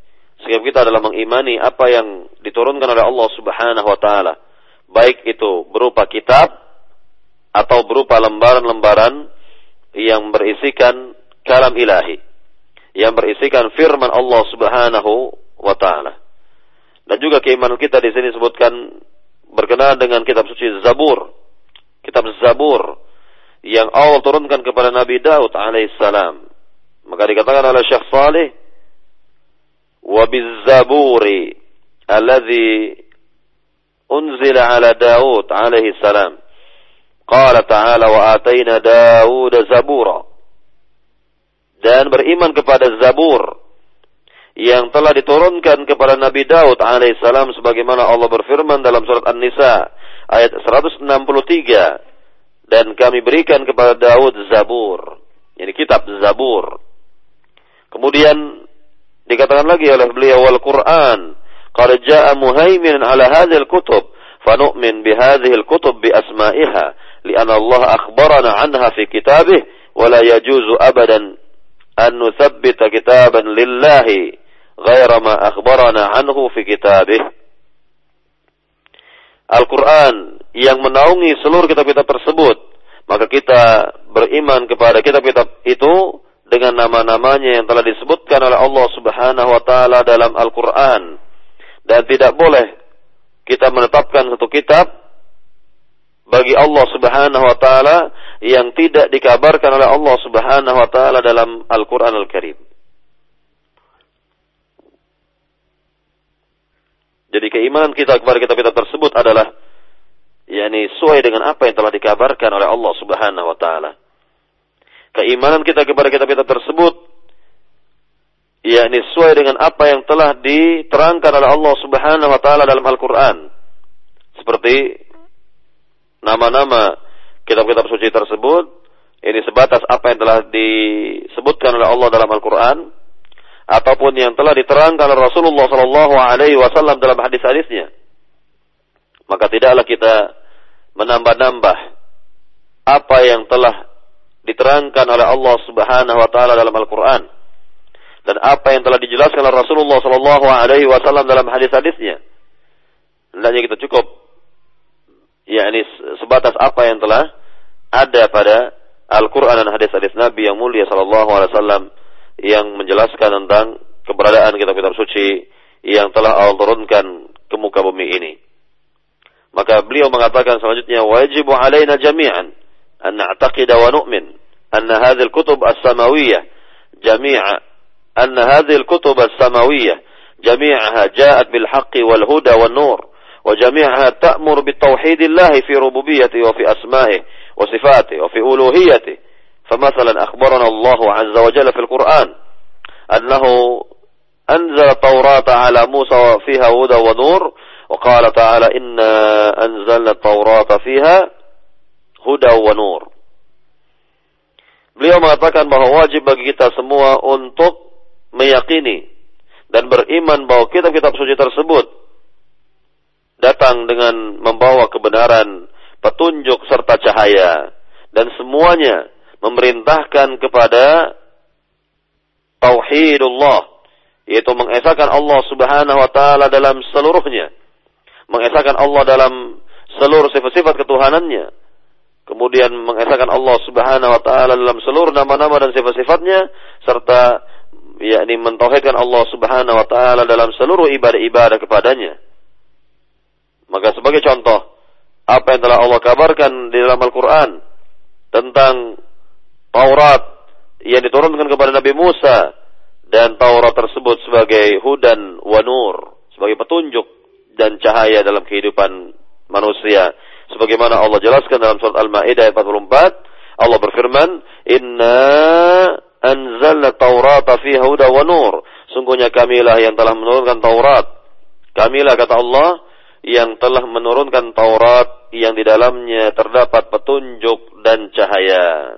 sikap kita adalah mengimani apa yang diturunkan oleh Allah Subhanahu wa taala, baik itu berupa kitab atau berupa lembaran-lembaran yang berisikan kalam ilahi, yang berisikan firman Allah Subhanahu wa taala. Dan juga keimanan kita di sini disebutkan berkenaan dengan kitab suci Zabur. Kitab Zabur yang Allah turunkan kepada Nabi Daud alaihissalam. Maka dikatakan oleh Syekh Salih, wa biz-zaburi alladhi unzila ala Daud alaihissalam. Qala ta'ala wa atayna Daud zabura. Dan beriman kepada Zabur yang telah diturunkan kepada Nabi Daud alaihissalam, sebagaimana Allah berfirman dalam surat An-Nisa ayat 163, dan kami berikan kepada Daud Zabur, yani kitab Zabur. Kemudian dikatakan lagi oleh beliau, wal Quran qad jaa muhaiminan ala hadhil kutub fanu'min bihadhihi al-kutub bi asma'iha li'anna Allah akhbarana anha fi kitabih wa la yajuzu abadan an nuthabbita kitaban lillahi ghaira ma akhbarana anhu fi kitabih. Al-Quran yang menaungi seluruh kitab-kitab tersebut, maka kita beriman kepada kitab-kitab itu dengan nama-namanya yang telah disebutkan oleh Allah Subhanahu wa taala dalam Al-Quran. Dan tidak boleh kita menetapkan satu kitab bagi Allah Subhanahu wa taala yang tidak dikabarkan oleh Allah Subhanahu wa taala dalam Al-Quran Al-Karim. Jadi keimanan kita kepada kitab-kitab tersebut adalah sesuai dengan apa yang telah dikabarkan oleh Allah Subhanahu wa taala. Keimanan kita kepada kitab-kitab tersebut sesuai dengan apa yang telah diterangkan oleh Allah Subhanahu wa taala dalam Al-Qur'an. Seperti nama-nama kitab-kitab suci tersebut ini sebatas apa yang telah disebutkan oleh Allah dalam Al-Qur'an, ataupun yang telah diterangkan oleh Rasulullah sallallahu alaihi wasallam dalam hadis-hadisnya. Maka tidaklah kita menambah-nambah apa yang telah diterangkan oleh Allah Subhanahu wa taala dalam Al-Qur'an dan apa yang telah dijelaskan oleh Rasulullah sallallahu alaihi wasallam dalam hadis-hadisnya. Hendaknya kita cukup sebatas apa yang telah ada pada Al-Qur'an dan hadis-hadis Nabi yang mulia sallallahu alaihi wasallam yang menjelaskan tentang keberadaan kitab-kitab suci yang telah Allah turunkan ke muka bumi ini. Maka beliau mengatakan selanjutnya, wajibu alaina jami'an an na'taqida wa nu'min anna hadhihi al-kutub as-samawiyyah jami'aha ja'at bil haqqi wal huda wan nur wa jami'aha ta'mur bit tauhidillah fi rububiyyati wa fi asma'ihi wa sifatihi wa fi uluhiyyatihi. فمثلا أخبرنا الله عز وجل في القرآن أنه أنزل التوراة على موسى فيها هدى ونور وقال تعالى إنا أنزلنا التوراة فيها هدى ونور. Beliau mengatakan bahwa wajib bagi kita semua untuk meyakini dan beriman bahwa kitab-kitab suci tersebut datang dengan membawa kebenaran, petunjuk serta cahaya, dan semuanya memerintahkan kepada tauhidullah, yaitu mengesahkan Allah Subhanahu wa taala dalam seluruhnya, mengesahkan Allah dalam seluruh sifat-sifat ketuhanannya, kemudian mengesahkan Allah Subhanahu wa taala dalam seluruh nama-nama dan sifat-sifatnya, serta mentauhidkan Allah Subhanahu wa taala dalam seluruh ibadah-ibadah kepadanya. Maka sebagai contoh apa yang telah Allah kabarkan di dalam Al-Qur'an tentang Taurat yang diturunkan kepada Nabi Musa, dan Taurat tersebut sebagai hudan wa nur, sebagai petunjuk dan cahaya dalam kehidupan manusia. Sebagaimana Allah jelaskan dalam surat Al-Maidah ayat 44, Allah berfirman, "Inna anzalna Taurata fiha hudan wa nur." Sungguhnya kamilah yang telah menurunkan Taurat. Kamilah, kata Allah, yang telah menurunkan Taurat yang di dalamnya terdapat petunjuk dan cahaya.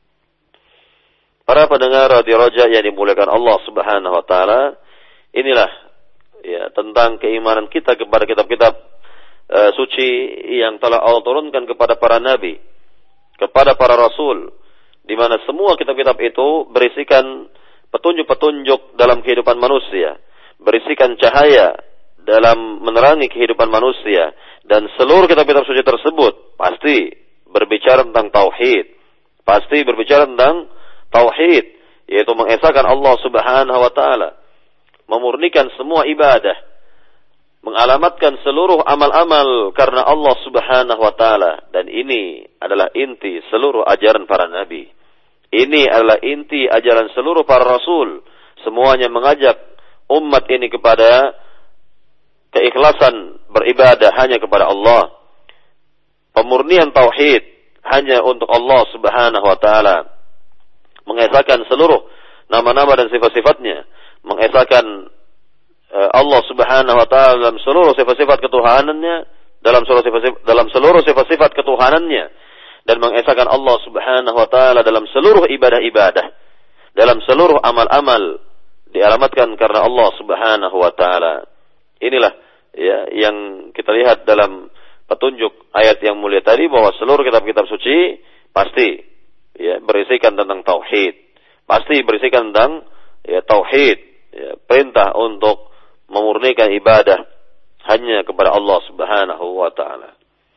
Para pendengar Radio Raja yang dimuliakan Allah Subhanahu wa taala, inilah tentang keimanan kita kepada kitab-kitab suci yang telah Allah turunkan kepada para nabi, kepada para rasul, di mana semua kitab-kitab itu berisikan petunjuk-petunjuk dalam kehidupan manusia, berisikan cahaya dalam menerangi kehidupan manusia, dan seluruh kitab-kitab suci tersebut pasti berbicara tentang tauhid, pasti berbicara tentang tauhid, yaitu mengesahkan Allah Subhanahu wa taala, memurnikan semua ibadah, mengalamatkan seluruh amal-amal karena Allah Subhanahu wa taala. Dan ini adalah inti seluruh ajaran para nabi. Ini adalah inti ajaran seluruh para rasul. Semuanya mengajak umat ini kepada keikhlasan beribadah hanya kepada Allah. Pemurnian tauhid hanya untuk Allah Subhanahu wa taala. Mengesahkan seluruh nama-nama dan sifat-sifatnya. Mengesahkan Allah Subhanahu wa taala dalam seluruh sifat-sifat ketuhanannya, dalam seluruh sifat-sifat ketuhanannya, dan mengesahkan Allah Subhanahu wa taala dalam seluruh ibadah-ibadah, dalam seluruh amal-amal dialamatkan karena Allah Subhanahu wa taala. Inilah ya yang kita lihat dalam petunjuk ayat yang mulia tadi, bahwa seluruh kitab-kitab suci pasti ya berisikan tentang tauhid, pasti berisikan tentang ya tauhid, ya, perintah untuk memurnikan ibadah hanya kepada Allah Subhanahu wa taala.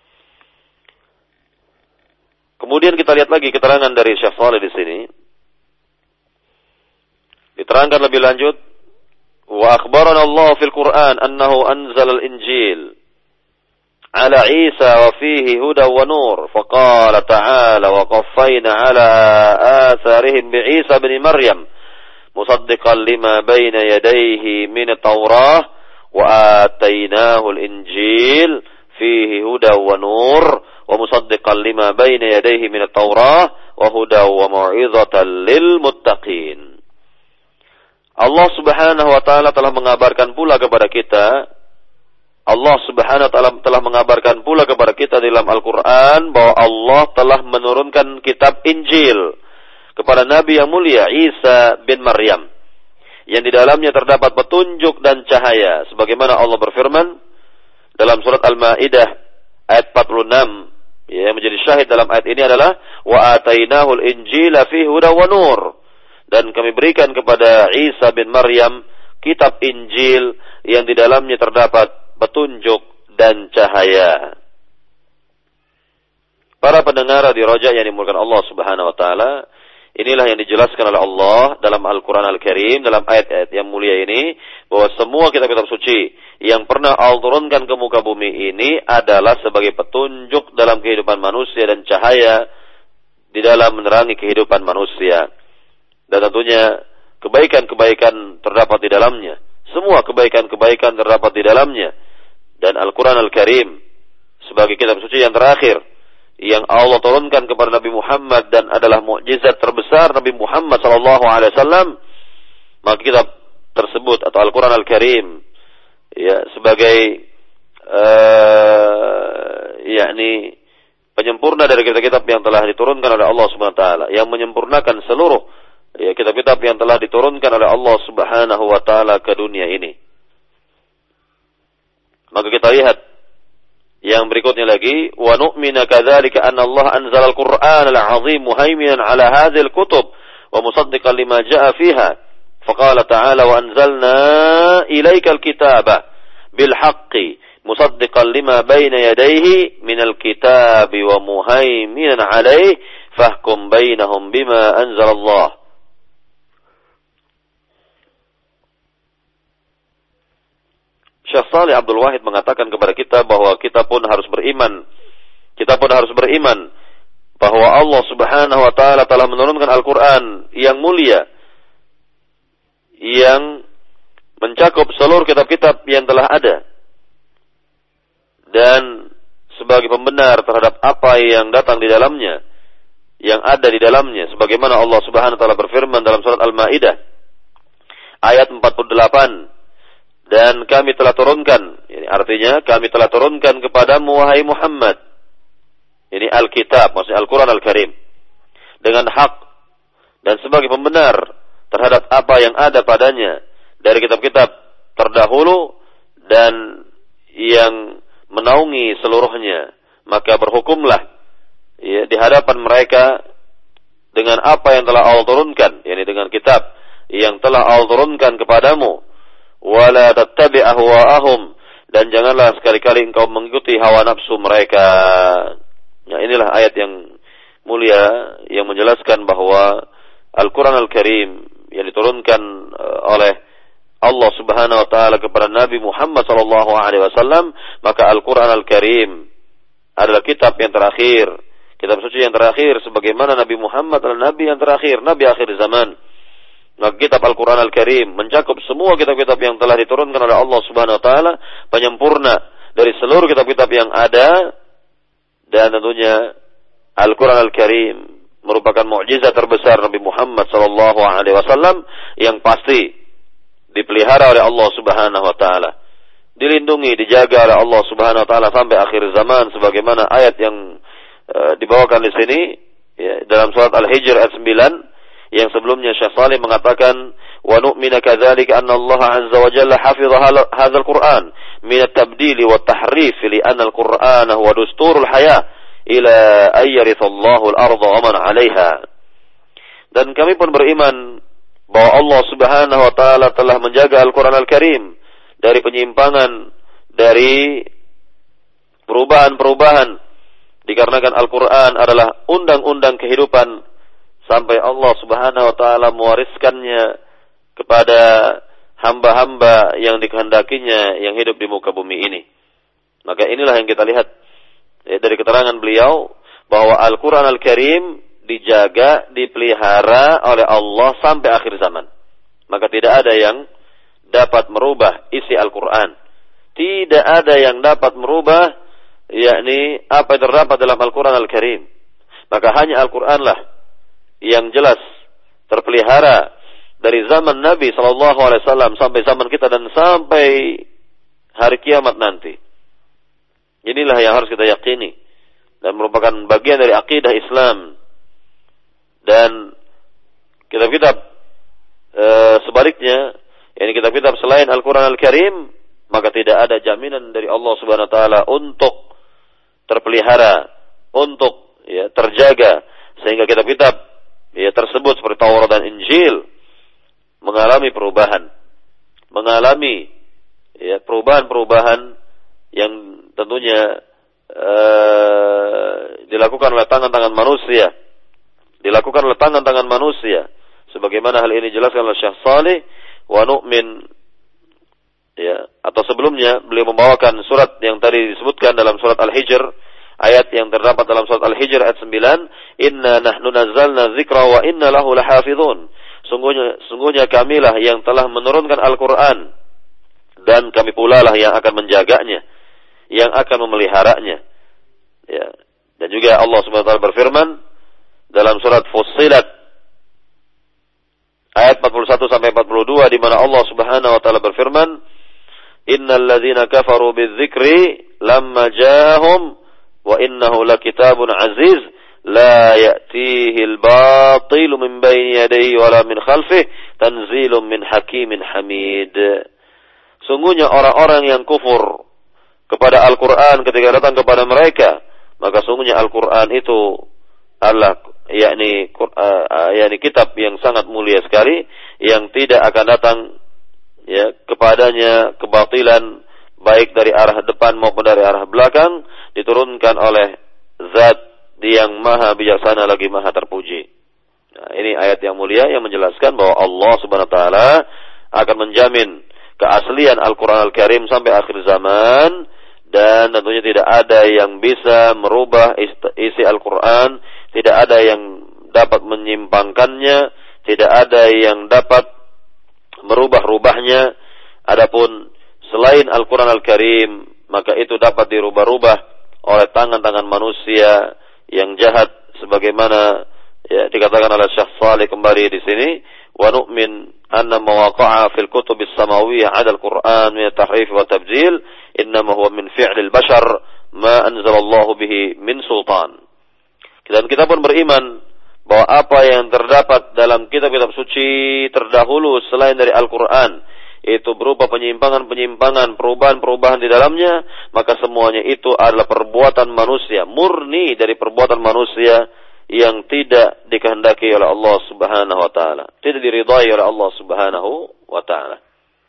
Kemudian kita lihat lagi keterangan dari Syekh Shalih di sini. Diterangkan lebih lanjut, wa akhbarana Allah fil Qur'an annahu anzala al-Injil ala Isa wa fihi huda wa nur, faqala ta'ala wa qaffayna ala atharihim bi Isa ibn Maryam musaddiqan lima bayna yadayhi min at-Taurah wa atainahu al-Injil fihi huda wa nur wa musaddiqan lima bayna yadayhi min at-Taurah wa huda wa mau'izatan lil muttaqin. Allah Subhanahu wa taala telah mengabarkan pula kepada kita, Allah Subhanahu wa taala telah mengabarkan pula kepada kita dalam Al-Qur'an bahwa Allah telah menurunkan kitab Injil kepada Nabi yang mulia Isa bin Maryam, yang di dalamnya terdapat petunjuk dan cahaya, sebagaimana Allah berfirman dalam surat Al-Maidah ayat 46. Yang menjadi syahid dalam ayat ini adalah wa atainahul injila fihi huda wa nur, dan kami berikan kepada Isa bin Maryam kitab Injil yang di dalamnya terdapat petunjuk dan cahaya. Para pendengar di Raja yang dimulakan Allah Subhanahu wa taala, inilah yang dijelaskan oleh Allah dalam Al-Quran Al-Karim, dalam ayat-ayat yang mulia ini, bahwa semua kitab-kitab suci yang pernah Allah turunkan ke muka bumi ini adalah sebagai petunjuk dalam kehidupan manusia dan cahaya di dalam menerangi kehidupan manusia. Dan tentunya kebaikan-kebaikan terdapat di dalamnya. Semua kebaikan-kebaikan terdapat di dalamnya. Dan Al-Quran Al-Karim sebagai kitab suci yang terakhir yang Allah turunkan kepada Nabi Muhammad dan adalah mukjizat terbesar Nabi Muhammad SAW, maka kitab tersebut atau Al-Quran Al-Karim ya sebagai yakni penyempurna dari kitab-kitab yang telah diturunkan oleh Allah Subhanahu wa taala, yang menyempurnakan seluruh ya kitab-kitab yang telah diturunkan oleh Allah Subhanahu wa taala ke dunia ini. Maka kita lihat yang berikutnya lagi, wa nu'mina kadzalika anna Allah anzala al-Qur'an al-'azim muhaiminan 'ala hadhihi al-kutub wa musaddiqan lima jaa'a fiha. Faqala ta'ala wa anzalna ilaika al-kitaba bil haqqi musaddiqan lima bayna yadayhi min al-kitabi wa muhaiminan 'alayhi fahkum bainahum bima anzala Allah. Syekh Shalih Abdul Wahid mengatakan kepada kita bahwa kita pun harus beriman bahwa Allah Subhanahu wa taala telah menurunkan Al-Qur'an yang mulia yang mencakup seluruh kitab-kitab yang telah ada dan sebagai pembenar terhadap apa yang datang di dalamnya, yang ada di dalamnya, sebagaimana Allah Subhanahu wa taala berfirman dalam surat Al-Maidah ayat 48, dan kami telah turunkan, ini artinya kami telah turunkan kepadamu wahai Muhammad, ini Alkitab, maksudnya Al-Quran Al-Karim, dengan hak dan sebagai pembenar terhadap apa yang ada padanya dari kitab-kitab terdahulu dan yang menaungi seluruhnya. Maka berhukumlah ya, di hadapan mereka dengan apa yang telah Allah turunkan, yakni dengan kitab yang telah Allah turunkan kepadamu. wa la tattabi' ahwa'ahum, dan janganlah sekali-kali engkau mengikuti hawa nafsu mereka. Nah, inilah ayat yang mulia yang menjelaskan bahwa Al-Quran Al-Karim yang diturunkan oleh Allah Subhanahu wa taala kepada Nabi Muhammad sallallahu alaihi wasallam, maka Al-Quran Al-Karim adalah kitab yang terakhir, kitab suci yang terakhir, sebagaimana Nabi Muhammad adalah nabi yang terakhir, nabi akhir zaman. Maka kitab Al-Quran Al-Karim mencakup semua kitab-kitab yang telah diturunkan oleh Allah Subhanahu wa taala, penyempurna dari seluruh kitab-kitab yang ada, dan tentunya Al-Quran Al-Karim merupakan mukjizat terbesar Nabi Muhammad sallallahu alaihi wasallam yang pasti dipelihara oleh Allah Subhanahu wa taala, dilindungi, dijaga oleh Allah Subhanahu wa taala sampai akhir zaman, sebagaimana ayat yang dibawakan di sini ya, dalam surat Al-Hijr ayat 9 yang sebelumnya Syekh Shalih mengatakan wa nu'minu kadzalika anna Allah azza wa jalla hafidha hadzal Qur'an min at-tabdil wa at-tahrif li anna al-Qur'ana huwa dusturul hayah ila ayyarithullahu al-ardha wa man 'alaiha. Dan kami pun beriman bahwa Allah Subhanahu wa taala telah menjaga Al-Quran Al-Karim dari penyimpangan, dari perubahan-perubahan, dikarenakan Al-Quran adalah undang-undang kehidupan sampai Allah Subhanahu wa taala mewariskannya kepada hamba-hamba yang dikehendakinya yang hidup di muka bumi ini. Maka inilah yang kita lihat dari keterangan beliau bahwa Al-Quran Al-Karim dijaga, dipelihara oleh Allah sampai akhir zaman. Maka tidak ada yang dapat merubah isi Al-Quran. Tidak ada yang dapat merubah yakni apa yang terdapat dalam Al-Quran Al-Karim. Maka hanya Al-Quranlah yang jelas terpelihara dari zaman Nabi SAW sampai zaman kita dan sampai hari kiamat nanti. Inilah yang harus kita yakini dan merupakan bagian dari akidah Islam. Dan kitab-kitab sebaliknya, yakni kitab-kitab selain Al-Quran Al-Karim, maka tidak ada jaminan dari Allah Subhanahu wa taala untuk terpelihara, untuk ya terjaga, sehingga kitab-kitab ya tersebut seperti Taurat dan Injil mengalami perubahan, mengalami ya perubahan-perubahan yang tentunya dilakukan oleh tangan-tangan manusia, dilakukan oleh tangan-tangan manusia, sebagaimana hal ini dijelaskan oleh Syekh Shalih wa nu'min ya, atau sebelumnya beliau membawakan surat yang tadi disebutkan dalam surat Al-Hijr, ayat yang terdapat dalam surat Al-Hijr ayat 9, inna nahnu nazzalna dzikra wa inna lahu lahafizun, sungguhnya kamilah yang telah menurunkan Al-Quran dan kami pula lah yang akan menjaganya, yang akan memeliharanya ya. Dan juga Allah Subhanahu wa taala berfirman dalam surat Fussilat ayat 41 sampai 42, di mana Allah Subhanahu wa taala berfirman, innal ladzina kafaru bidzikri lamma ja'ahum wa innahu lakitabun aziz la ya'tihi al-batilu min bayni yadayhi wala min khalfihi tanzilun min hakimin hamid. Sungguhnya orang-orang yang kufur kepada Al-Quran ketika datang kepada mereka, maka sungguhnya Al-Quran itu adalah yakni kitab yang sangat mulia sekali, yang tidak akan datang ya kepadanya kebatilan, baik dari arah depan maupun dari arah belakang, diturunkan oleh Zat yang maha bijaksana lagi maha terpuji. Nah, ini ayat yang mulia yang menjelaskan bahwa Allah Subhanahu wa taala akan menjamin keaslian Al-Quran Al-Karim sampai akhir zaman, dan tentunya tidak ada yang bisa merubah isi Al-Quran, tidak ada yang dapat menyimpangkannya, tidak ada yang dapat merubah-rubahnya. Adapun selain Al-Quran Al-Karim, maka itu dapat dirubah-rubah oleh tangan-tangan manusia yang jahat, sebagaimana ya dikatakan oleh Syekh Shalih kembali di sini, wa nu'min anna mawaqa'a fil kutubis samawiyyah 'ala al-Qur'an min at-tahrif wa tabdil innama huwa min fi'lil bashar ma anzalallahu bihi min sultan. Dan kita pun beriman bahwa apa yang terdapat dalam kitab-kitab suci terdahulu selain dari Al-Quran itu berupa penyimpangan-penyimpangan, perubahan-perubahan di dalamnya, maka semuanya itu adalah perbuatan manusia, murni dari perbuatan manusia yang tidak dikehendaki oleh Allah Subhanahu wa taala, tidak diridhai oleh Allah Subhanahu wa taala.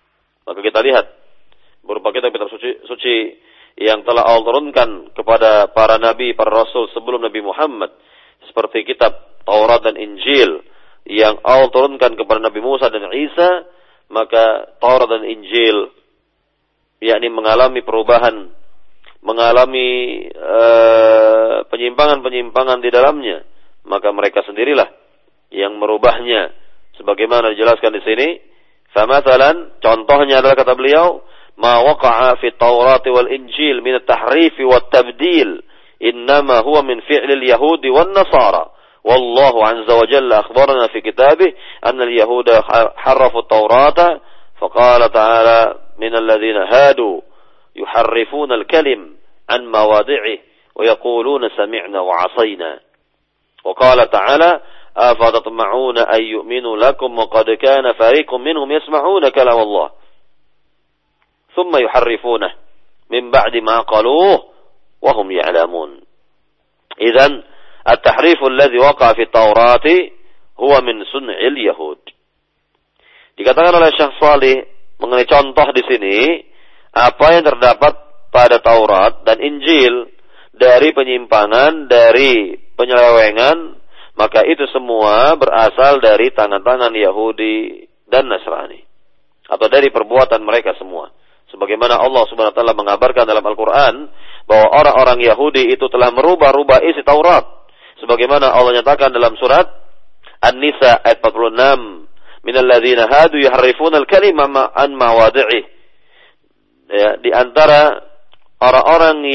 Maka kita lihat berupa kitab-kitab suci yang telah Allah turunkan kepada para nabi, para rasul sebelum Nabi Muhammad, seperti kitab Taurat dan Injil yang Allah turunkan kepada Nabi Musa dan Isa, maka Taurat dan Injil yakni mengalami perubahan, mengalami penyimpangan-penyimpangan di dalamnya, maka mereka sendirilah yang merubahnya, sebagaimana dijelaskan di sini. Famathalan, contohnya adalah kata beliau, ma waqa'a fi Taurat wal Injil min at-tahrif wa at-tabdil innama huwa min fi'lil yahudi wan nasara. Wallahu 'azza wa jalla akhbarana fi kitabih anna al-yahuda harrafu at-taurata faqala ta'ala min alladhina hadu yuharrifuna al-kalim an mawadi'ihi wa yaquluna sami'na wa 'asayna. Wa qala ta'ala أفتطمعون أن يؤمنوا لكم وقد كان فريق منهم يسمعون كلام الله ثم يحرفونه من بعد ما قالوه وهم يعلمون. إذن التحريف الذي وقع في التوراة هو من صنع اليهود. Dikatakan oleh Syekh Salih mengenai contoh di sini, apa yang terdapat pada Taurat dan Injil dari penyimpangan, dari penyelewengan, maka itu semua berasal dari tangan-tangan Yahudi dan Nasrani, atau dari perbuatan mereka semua. Sebagaimana Allah Subhanahu wa taala mengabarkan dalam Al-Qur'an bahwa orang-orang Yahudi itu telah merubah-rubah isi Taurat. Sebagaimana Allah nyatakan dalam surat An-Nisa ayat 46, "Minal ladzina hadu yuharrifuna al-kalima an mawadhi'i." Ya, di antara orang-orang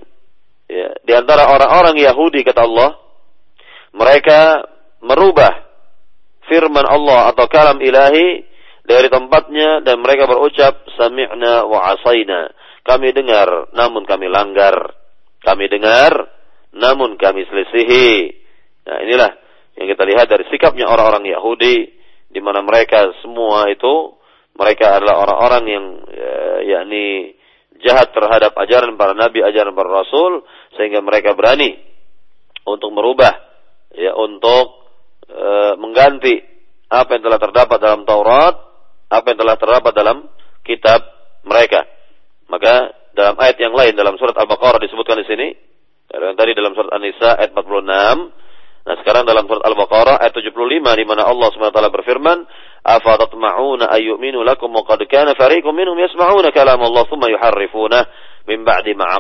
Yahudi, kata Allah, mereka merubah firman Allah atau kalam ilahi dari tempatnya, dan mereka berucap sami'na wa asaina. Kami dengar namun kami langgar. Kami dengar namun kami selisihi. Nah, inilah yang kita lihat dari sikapnya orang-orang Yahudi, di mana mereka semua itu, mereka adalah orang-orang yang yakni jahat terhadap ajaran para nabi, ajaran para rasul, sehingga mereka berani untuk merubah, ya, untuk mengganti apa yang telah terdapat dalam Taurat, apa yang telah terdapat dalam kitab mereka. Maka dalam ayat yang lain dalam surat Al-Baqarah disebutkan di sini, yang tadi dalam surat An-Nisa ayat 46. Nah, sekarang dalam surat Al-Baqarah ayat 75, di mana Allah Subhanahu wa taala berfirman, "Afatatma'una ayyuminu lakum wa qad kana fariqun minhum yasma'una kalam Allah thumma yuharrifunah min ba'di ma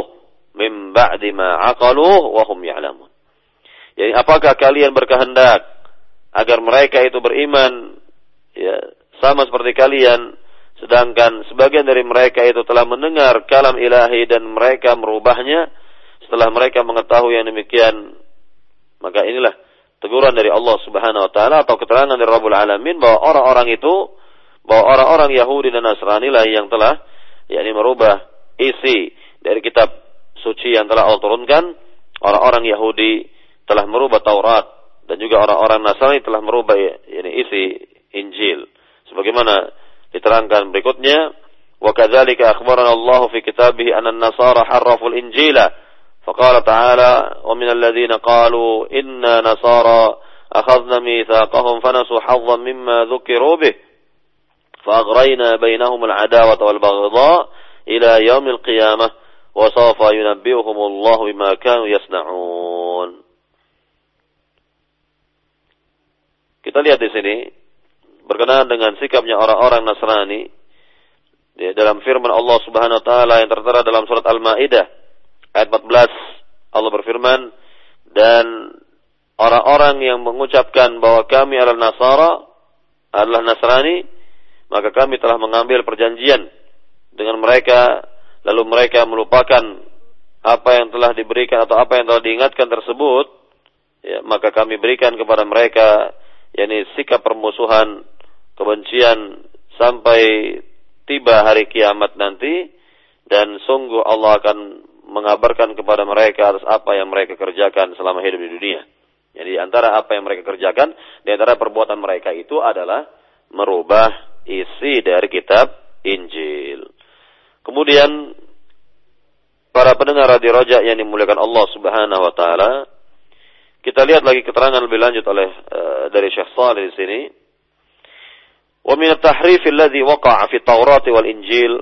aqaluh wa hum ya'lamun." Jadi, apakah kalian berkehendak agar mereka itu beriman, ya, sama seperti kalian, sedangkan sebagian dari mereka itu telah mendengar kalam ilahi dan mereka merubahnya setelah mereka mengetahui yang demikian? Maka inilah teguran dari Allah Subhanahu wa taala atau keterangan dari Rabbul Alamin bahwa orang-orang itu, bahwa orang-orang Yahudi dan Nasrani lah yang telah yakni merubah isi dari kitab suci yang telah Allah turunkan. Orang-orang Yahudi telah merubah Taurat, dan juga orang-orang Nasrani telah merubah isi Injil. Sebagaimana diterangkan berikutnya, wa kadzalika akhbarana Allah fi kitabih anna an-nasara harraful injila faqala ta'ala wa minal ladzina qalu inna nasara akhadna mitsaqahum fanasu hazzan mimma dhukiru bih fa'aghrayna bainahum al-'adawata wal baghdha ila yaumil qiyamah wa sawfa yunabbi'uhum Allah bima kanu yasna'un. Kita lihat di sini berkenaan dengan sikapnya orang-orang Nasrani, ya, dalam firman Allah Subhanahu wa taala yang tertera dalam surat Al-Maidah ayat 14. Allah berfirman, dan orang-orang yang mengucapkan bahwa kami adalah Nasrani, maka kami telah mengambil perjanjian dengan mereka, lalu mereka melupakan apa yang telah diberikan atau apa yang telah diingatkan tersebut, ya, maka kami berikan kepada mereka yakni sikap permusuhan, kebencian sampai tiba hari kiamat nanti, dan sungguh Allah akan mengabarkan kepada mereka atas apa yang mereka kerjakan selama hidup di dunia. Jadi antara apa yang mereka kerjakan, di antara perbuatan mereka itu adalah merubah isi dari kitab Injil. Kemudian para pendengar Radio Raja yang dimuliakan Allah Subhanahu wa taala, kita lihat lagi keterangan lebih lanjut oleh dari Syekh Salih di sini. Wa min at-tahrif alladhi waqa'a fi at-Taurat wal Injil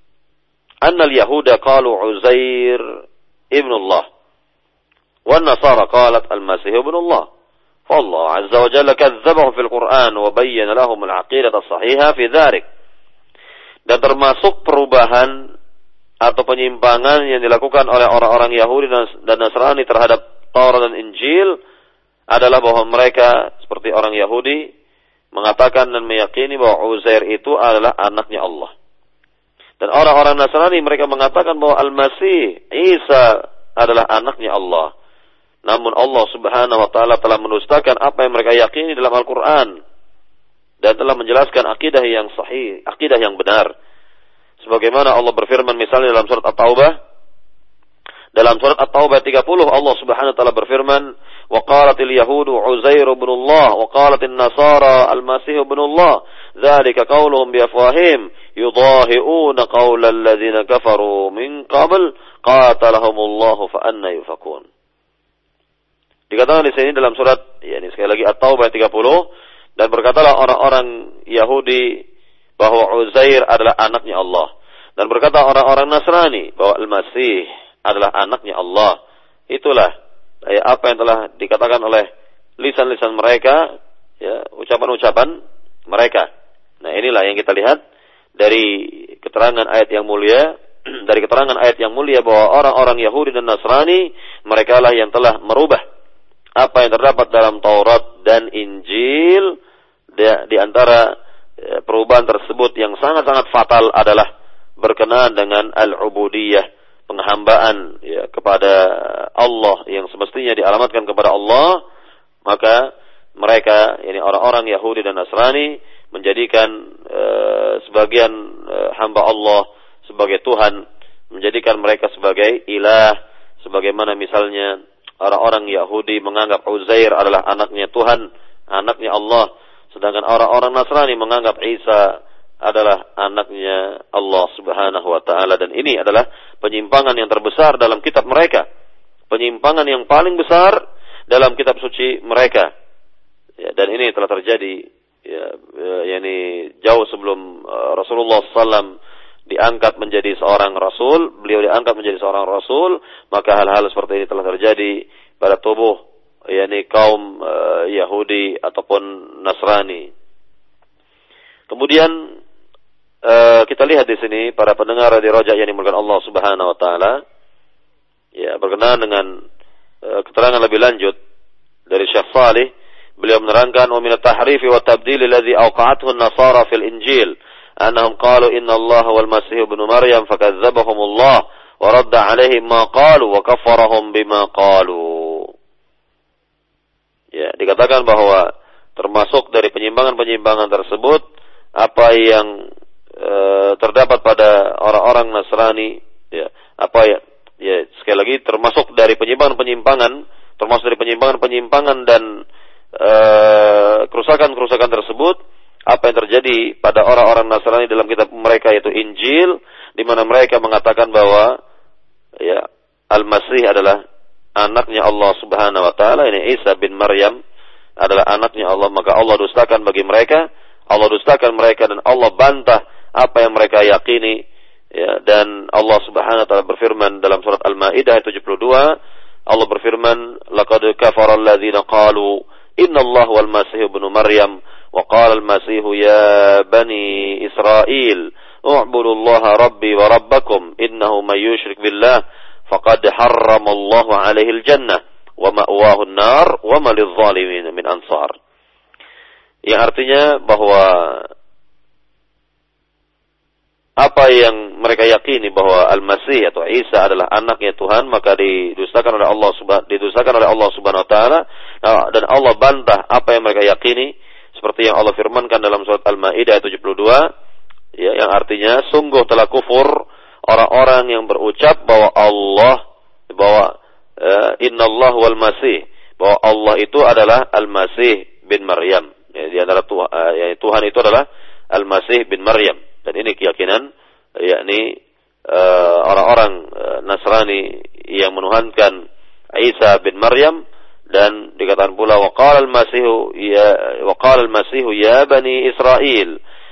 anna al-yahuda qalu Uzair ibn Allah wa an-Nasara qalat al-Masih ibn Allah. Fa Allah 'azza wa jalla kadzdzabahu fil Qur'an wa bayyana lahum al-'aqidah as-sahihah fi dzalik. Dan termasuk perubahan atau penyimpangan yang dilakukan oleh orang-orang Yahudi dan Nasrani terhadap Taurat dan Injil adalah bahwa mereka seperti orang Yahudi mengatakan dan meyakini bahwa Uzair itu adalah anaknya Allah. Dan orang-orang Nasrani mereka mengatakan bahwa Al-Masih Isa adalah anaknya Allah. Namun Allah Subhanahu wa taala telah mendustakan apa yang mereka yakini dalam Al-Qur'an dan telah menjelaskan akidah yang sahih, akidah yang benar. Sebagaimana Allah berfirman misalnya dalam surat At-Taubah. Dalam surat At-Taubah 30 Allah Subhanahu wa taala berfirman, "Wa qalatil yahudu Uzair ibn Allah wa qalatin nasara al-Masih ibn Allah, dzalika qauluhum bi afwahihim yudahi'una qaula alladziina kafaru min qabl qatalahumullahu fa anna yufakun." Dikatakan di sini dalam surat sekali lagi At-Taubah 30, dan berkatalah orang-orang Yahudi bahwa Uzair adalah anaknya Allah. Dan berkata orang-orang Nasrani bahwa Al-Masih adalah anaknya Allah. Itulah apa yang telah dikatakan oleh lisan-lisan mereka, ucapan-ucapan mereka. Nah, inilah yang kita lihat dari keterangan ayat yang mulia, dari keterangan ayat yang mulia bahwa orang-orang Yahudi dan Nasrani mereka lah yang telah merubah apa yang terdapat dalam Taurat dan Injil. Di antara perubahan tersebut yang sangat-sangat fatal adalah berkenaan dengan al-ubudiyah, penghambaan kepada Allah yang semestinya dialamatkan kepada Allah. Maka mereka, orang-orang Yahudi dan Nasrani, menjadikan sebagian hamba Allah sebagai Tuhan, menjadikan mereka sebagai ilah, sebagaimana misalnya orang-orang Yahudi menganggap Uzair adalah anaknya Tuhan, anaknya Allah, sedangkan orang-orang Nasrani menganggap Isa adalah anaknya Allah Subhanahu wa taala. Dan ini adalah penyimpangan yang terbesar dalam kitab mereka, penyimpangan yang paling besar dalam kitab suci mereka. Dan ini telah terjadi jauh sebelum Rasulullah SAW diangkat menjadi seorang rasul. Beliau diangkat menjadi seorang rasul, maka hal-hal seperti ini telah terjadi pada tubuh kaum Yahudi ataupun Nasrani. Kemudian kita lihat di sini para pendengar di Raja yang dimulakan Allah Subhanahu wa taala, berkenaan dengan keterangan lebih lanjut dari Syekh Salih, beliau menerangkan wa min at-tahrifi wa tabdil alladhi awqa'athu an-nasara fil Injil annahum qalu inna Allah wal Masih ibn Maryam fakadzdzabahum Allah wa radda 'alaihim ma qalu wa kaffarahum bima qalu. Dikatakan bahwa termasuk dari penyimpangan-penyimpangan tersebut apa yang terdapat pada orang-orang Nasrani, sekali lagi termasuk dari penyimpangan-penyimpangan, dan kerusakan-kerusakan tersebut apa yang terjadi pada orang-orang Nasrani dalam kitab mereka yaitu Injil, di mana mereka mengatakan bahwa Al-Masih adalah anaknya Allah Subhanahu wa taala, ini Isa bin Maryam adalah anaknya Allah. Maka Allah dustakan bagi mereka, Allah dustakan mereka, dan Allah bantah apa yang mereka yakini. Dan Allah Subhanahu wa taala berfirman dalam surat Al-Maidah 72, Allah berfirman, laqad kafara alladziina qalu innallaha wal Masih ibnu Maryam wa qala al-Masih ya bani Israil u'budullaha rabbi wa rabbakum innahu may yushrik billah faqad harramallahu 'alaihi al-jannah wa ma'wahu an-nar wa ma lidh-dhalimin min ansar. Yang artinya bahwa apa yang mereka yakini bahwa Al-Masih atau Isa adalah anaknya Tuhan, maka didustakan oleh Allah Subhanahu wa taala, dan Allah bantah apa yang mereka yakini, seperti yang Allah firmankan dalam surat Al-Maidah 72, yang artinya sungguh telah kufur orang-orang yang berucap bahwa innallahu wal Masih, bahwa Allah itu adalah Al-Masih bin Maryam. Di antara Tuhan itu adalah Al-Masih bin Maryam. Dan ini keyakinan orang-orang Nasrani yang menuhankan Isa bin Maryam. Dan dikatakan pula waqala al-Masih ya bani Israil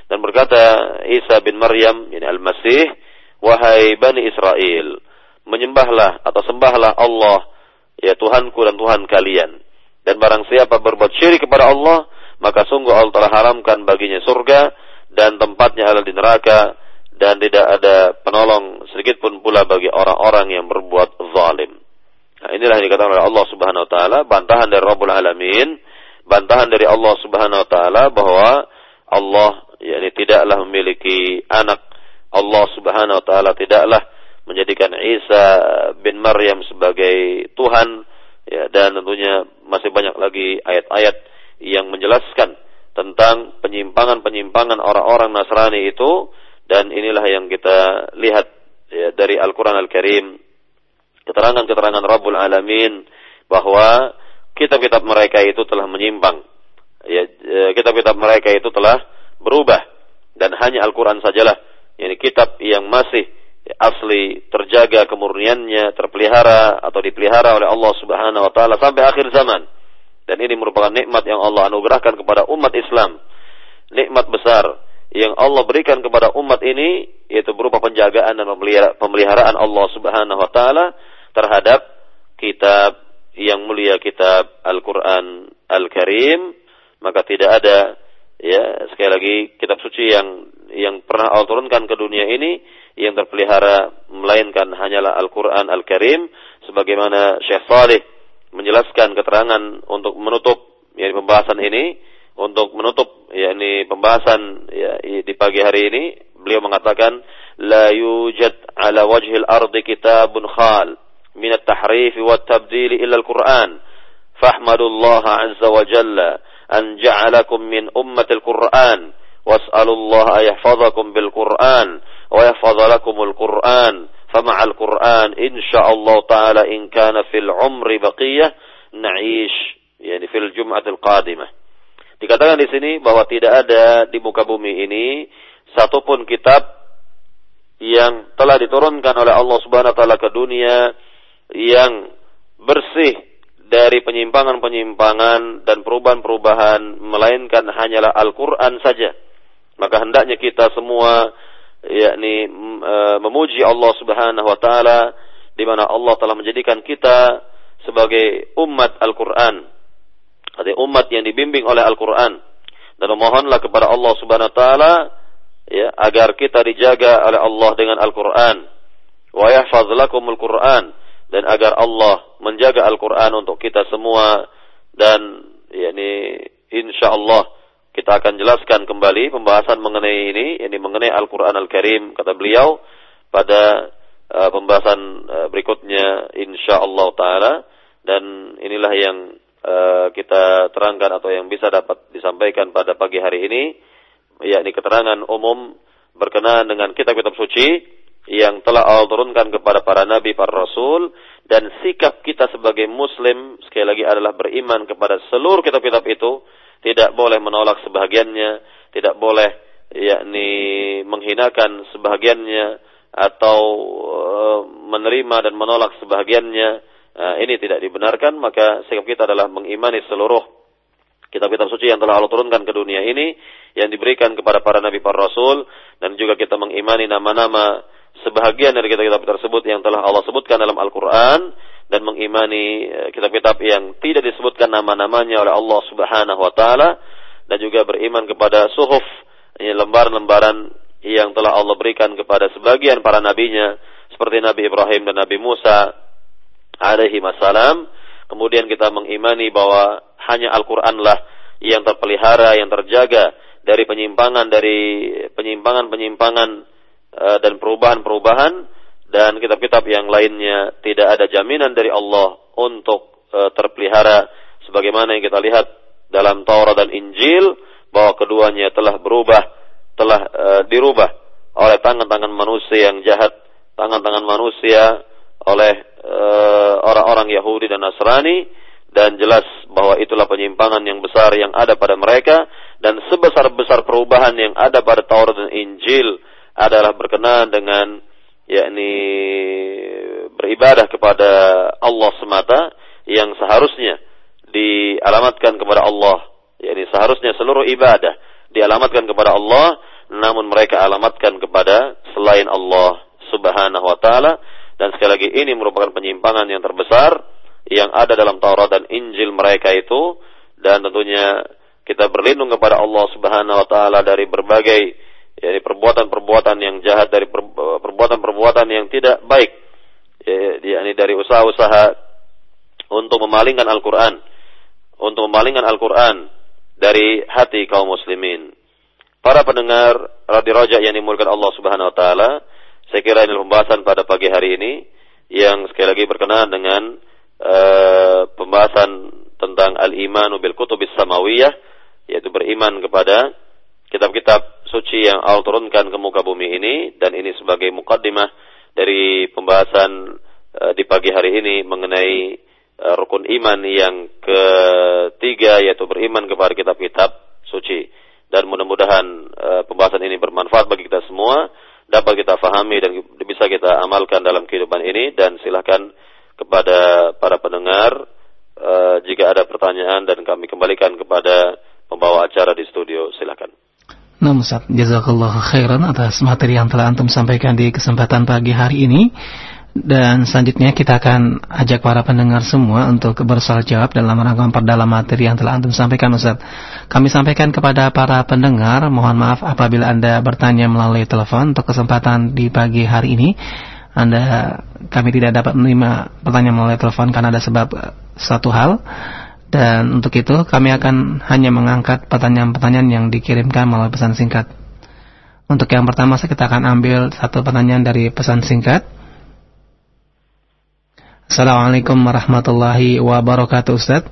dan berkata Isa bin Maryam, yani Al-Masih, wahai Bani Israel, menyembahlah atau sembahlah Allah, ya Tuhanku dan Tuhan kalian. Dan barang siapa berbuat syirik kepada Allah, maka sungguh Allah telah haramkan baginya surga dan tempatnya adalah di neraka, dan tidak ada penolong sedikit pun pula bagi orang-orang yang berbuat zalim. Nah, inilah yang dikatakan oleh Allah Subhanahu wa taala, bantahan dari Rabbul Alamin, bantahan dari Allah Subhanahu wa taala bahwa Allah yakni tidaklah memiliki anak. Allah Subhanahu wa taala tidaklah menjadikan Isa bin Maryam sebagai Tuhan, ya, dan tentunya masih banyak lagi ayat-ayat yang menjelaskan tentang penyimpangan-penyimpangan orang-orang Nasrani itu, dan inilah yang kita lihat, ya, dari Al-Qur'an Al-Karim, keterangan-keterangan Rabbul Alamin bahwa kitab-kitab mereka itu telah menyimpang, ya, kitab-kitab mereka itu telah berubah, dan hanya Al-Quran sajalah, yakni kitab yang masih asli, terjaga kemurniannya, terpelihara atau dipelihara oleh Allah Subhanahu wa taala sampai akhir zaman. Dan ini merupakan nikmat yang Allah anugerahkan kepada umat Islam, nikmat besar yang Allah berikan kepada umat ini, yaitu berupa penjagaan dan pemeliharaan Allah Subhanahu wa taala terhadap kitab yang mulia, kitab Al-Quran Al-Karim. Maka tidak ada, ya, sekali lagi, kitab suci yang pernah Allah turunkan ke dunia ini yang terpelihara melainkan hanyalah Al-Quran Al-Karim, sebagaimana Syekh Salih menjelaskan keterangan untuk menutup, ya, pembahasan ini, untuk menutup, yakni pembahasan, ya, di pagi hari ini. Beliau mengatakan, la yujad ala wajhil ardi kitabun khal min at-tahrif wa at-tabdil illa Al-Quran, fahmadullaha azza wa jalla an ja'alakum min ummatil Qur'an was'alullaha ayahfazakum bil Qur'an wa yahfazalakumul Qur'an fama'al Qur'an insyaallah ta'ala in kana fil umri baqiyah na'ish, yani fil jum'atil qadimah. Dikatakan di sini bahwa tidak ada di muka bumi ini satupun kitab yang telah diturunkan oleh Allah Subhanahu wa taala ke dunia yang bersih dari penyimpangan-penyimpangan dan perubahan-perubahan, melainkan hanyalah Al-Quran saja. Maka hendaknya kita semua, yakni memuji Allah Subhanahu wa taala, di mana Allah telah menjadikan kita sebagai umat Al-Quran, artinya umat yang dibimbing oleh Al-Quran. Dan memohonlah kepada Allah Subhanahu wa taala, ya, agar kita dijaga oleh Allah dengan Al-Quran. Wa yahfaz lakumul Quran, dan agar Allah menjaga Al-Quran untuk kita semua. Dan yakni insyaallah kita akan jelaskan kembali pembahasan mengenai ini, yakni mengenai Al-Quran Al-Karim, kata beliau, pada pembahasan berikutnya insyaallah ta'ala. Dan inilah yang kita terangkan atau yang bisa dapat disampaikan pada pagi hari ini, yakni keterangan umum berkenaan dengan kitab-kitab suci yang telah Allah turunkan kepada para nabi, para rasul, dan sikap kita sebagai muslim sekali lagi adalah beriman kepada seluruh kitab-kitab itu, tidak boleh menolak sebahagiannya, tidak boleh yakni menghinakan sebahagiannya atau menerima dan menolak sebahagiannya. Ini tidak dibenarkan. Maka sikap kita adalah mengimani seluruh kitab-kitab suci yang telah Allah turunkan ke dunia ini, yang diberikan kepada para nabi, para rasul, dan juga kita mengimani nama-nama sebahagian dari kitab-kitab tersebut yang telah Allah sebutkan dalam Al-Quran, dan mengimani kitab-kitab yang tidak disebutkan nama-namanya oleh Allah Subhanahu wa taala, dan juga beriman kepada suhuf, lembaran-lembaran yang telah Allah berikan kepada sebagian para nabinya, seperti Nabi Ibrahim dan Nabi Musa alaihi wassalam. Kemudian kita mengimani bahwa hanya Al-Quranlah yang terpelihara, yang terjaga dari penyimpangan-penyimpangan dan perubahan-perubahan, dan kitab-kitab yang lainnya tidak ada jaminan dari Allah untuk terpelihara, sebagaimana yang kita lihat dalam Taurat dan Injil bahwa keduanya telah berubah, telah dirubah oleh tangan-tangan manusia yang jahat, tangan-tangan manusia oleh orang-orang Yahudi dan Nasrani, dan jelas bahwa itulah penyimpangan yang besar yang ada pada mereka. Dan sebesar-besar perubahan yang ada pada Taurat dan Injil adalah berkenaan dengan yakni beribadah kepada Allah semata, yang seharusnya dialamatkan kepada Allah, yakni seharusnya seluruh ibadah dialamatkan kepada Allah, namun mereka alamatkan kepada selain Allah Subhanahu wa taala, dan sekali lagi ini merupakan penyimpangan yang terbesar yang ada dalam Taurat dan Injil mereka itu. Dan tentunya kita berlindung kepada Allah Subhanahu wa taala dari berbagai perbuatan-perbuatan yang jahat, dari perbuatan-perbuatan yang tidak baik, yakni dari usaha-usaha untuk memalingkan Al-Qur'an, dari hati kaum muslimin. Para pendengar Radio Raja yang dimuliakan Allah Subhanahu wa taala, saya kira ini pembahasan pada pagi hari ini yang sekali lagi berkenaan dengan pembahasan tentang al-imanu bil kutubis samawiyah, yaitu beriman kepada kitab-kitab suci yang Allah turunkan ke muka bumi ini. Dan ini sebagai mukaddimah dari pembahasan di pagi hari ini mengenai rukun iman yang ketiga, yaitu beriman kepada kitab-kitab suci. Dan mudah-mudahan pembahasan ini bermanfaat bagi kita semua, dapat kita fahami dan bisa kita amalkan dalam kehidupan ini. Dan silakan kepada para pendengar jika ada pertanyaan, dan kami kembalikan kepada pembawa acara di studio. Silakan. Nah, Ustaz, jazakallahu khairan atas materi yang telah antum sampaikan di kesempatan pagi hari ini. Dan selanjutnya kita akan ajak para pendengar semua untuk bersoal jawab dalam rangka memperdalam materi yang telah antum sampaikan, Ustaz. Kami sampaikan kepada para pendengar, mohon maaf apabila Anda bertanya melalui telepon. Untuk kesempatan di pagi hari ini kami tidak dapat menerima pertanyaan melalui telepon karena ada sebab satu hal. Dan untuk itu kami akan hanya mengangkat pertanyaan-pertanyaan yang dikirimkan melalui pesan singkat. Untuk yang pertama kita akan ambil satu pertanyaan dari pesan singkat. Assalamualaikum warahmatullahi wabarakatuh, Ustaz.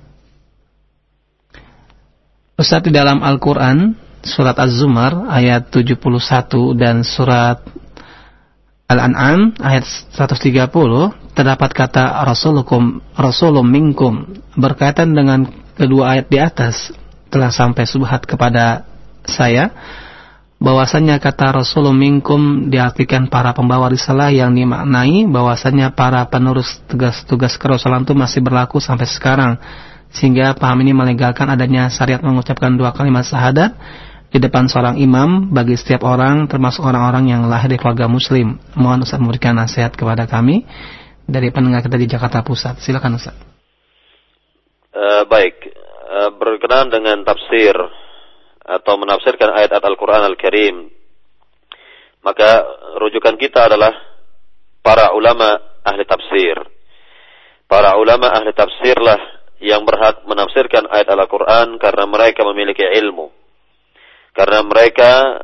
Ustaz, di dalam Al-Quran surat Az-Zumar ayat 71 dan surat Al-An'am ayat 130 terdapat kata rasulum minkum. Berkaitan dengan kedua ayat di atas, telah sampai subhat kepada saya bahwasanya kata rasulum minkum diartikan para pembawa risalah, yang dimaknai bahwasanya para penerus tugas-tugas kerasulan itu masih berlaku sampai sekarang, sehingga paham ini melegalkan adanya syariat mengucapkan dua kalimat syahadat di depan seorang imam bagi setiap orang, termasuk orang-orang yang lahir di keluarga muslim. Mohon Ustaz memberikan nasihat kepada kami dari pendengar kita di Jakarta Pusat. Silakan Ustaz. Baik, berkenaan dengan tafsir atau menafsirkan ayat-ayat Al-Quran Al-Karim, maka rujukan kita adalah para ulama ahli tafsir. Para ulama ahli tafsirlah yang berhak menafsirkan ayat Al-Quran karena mereka memiliki ilmu, karena mereka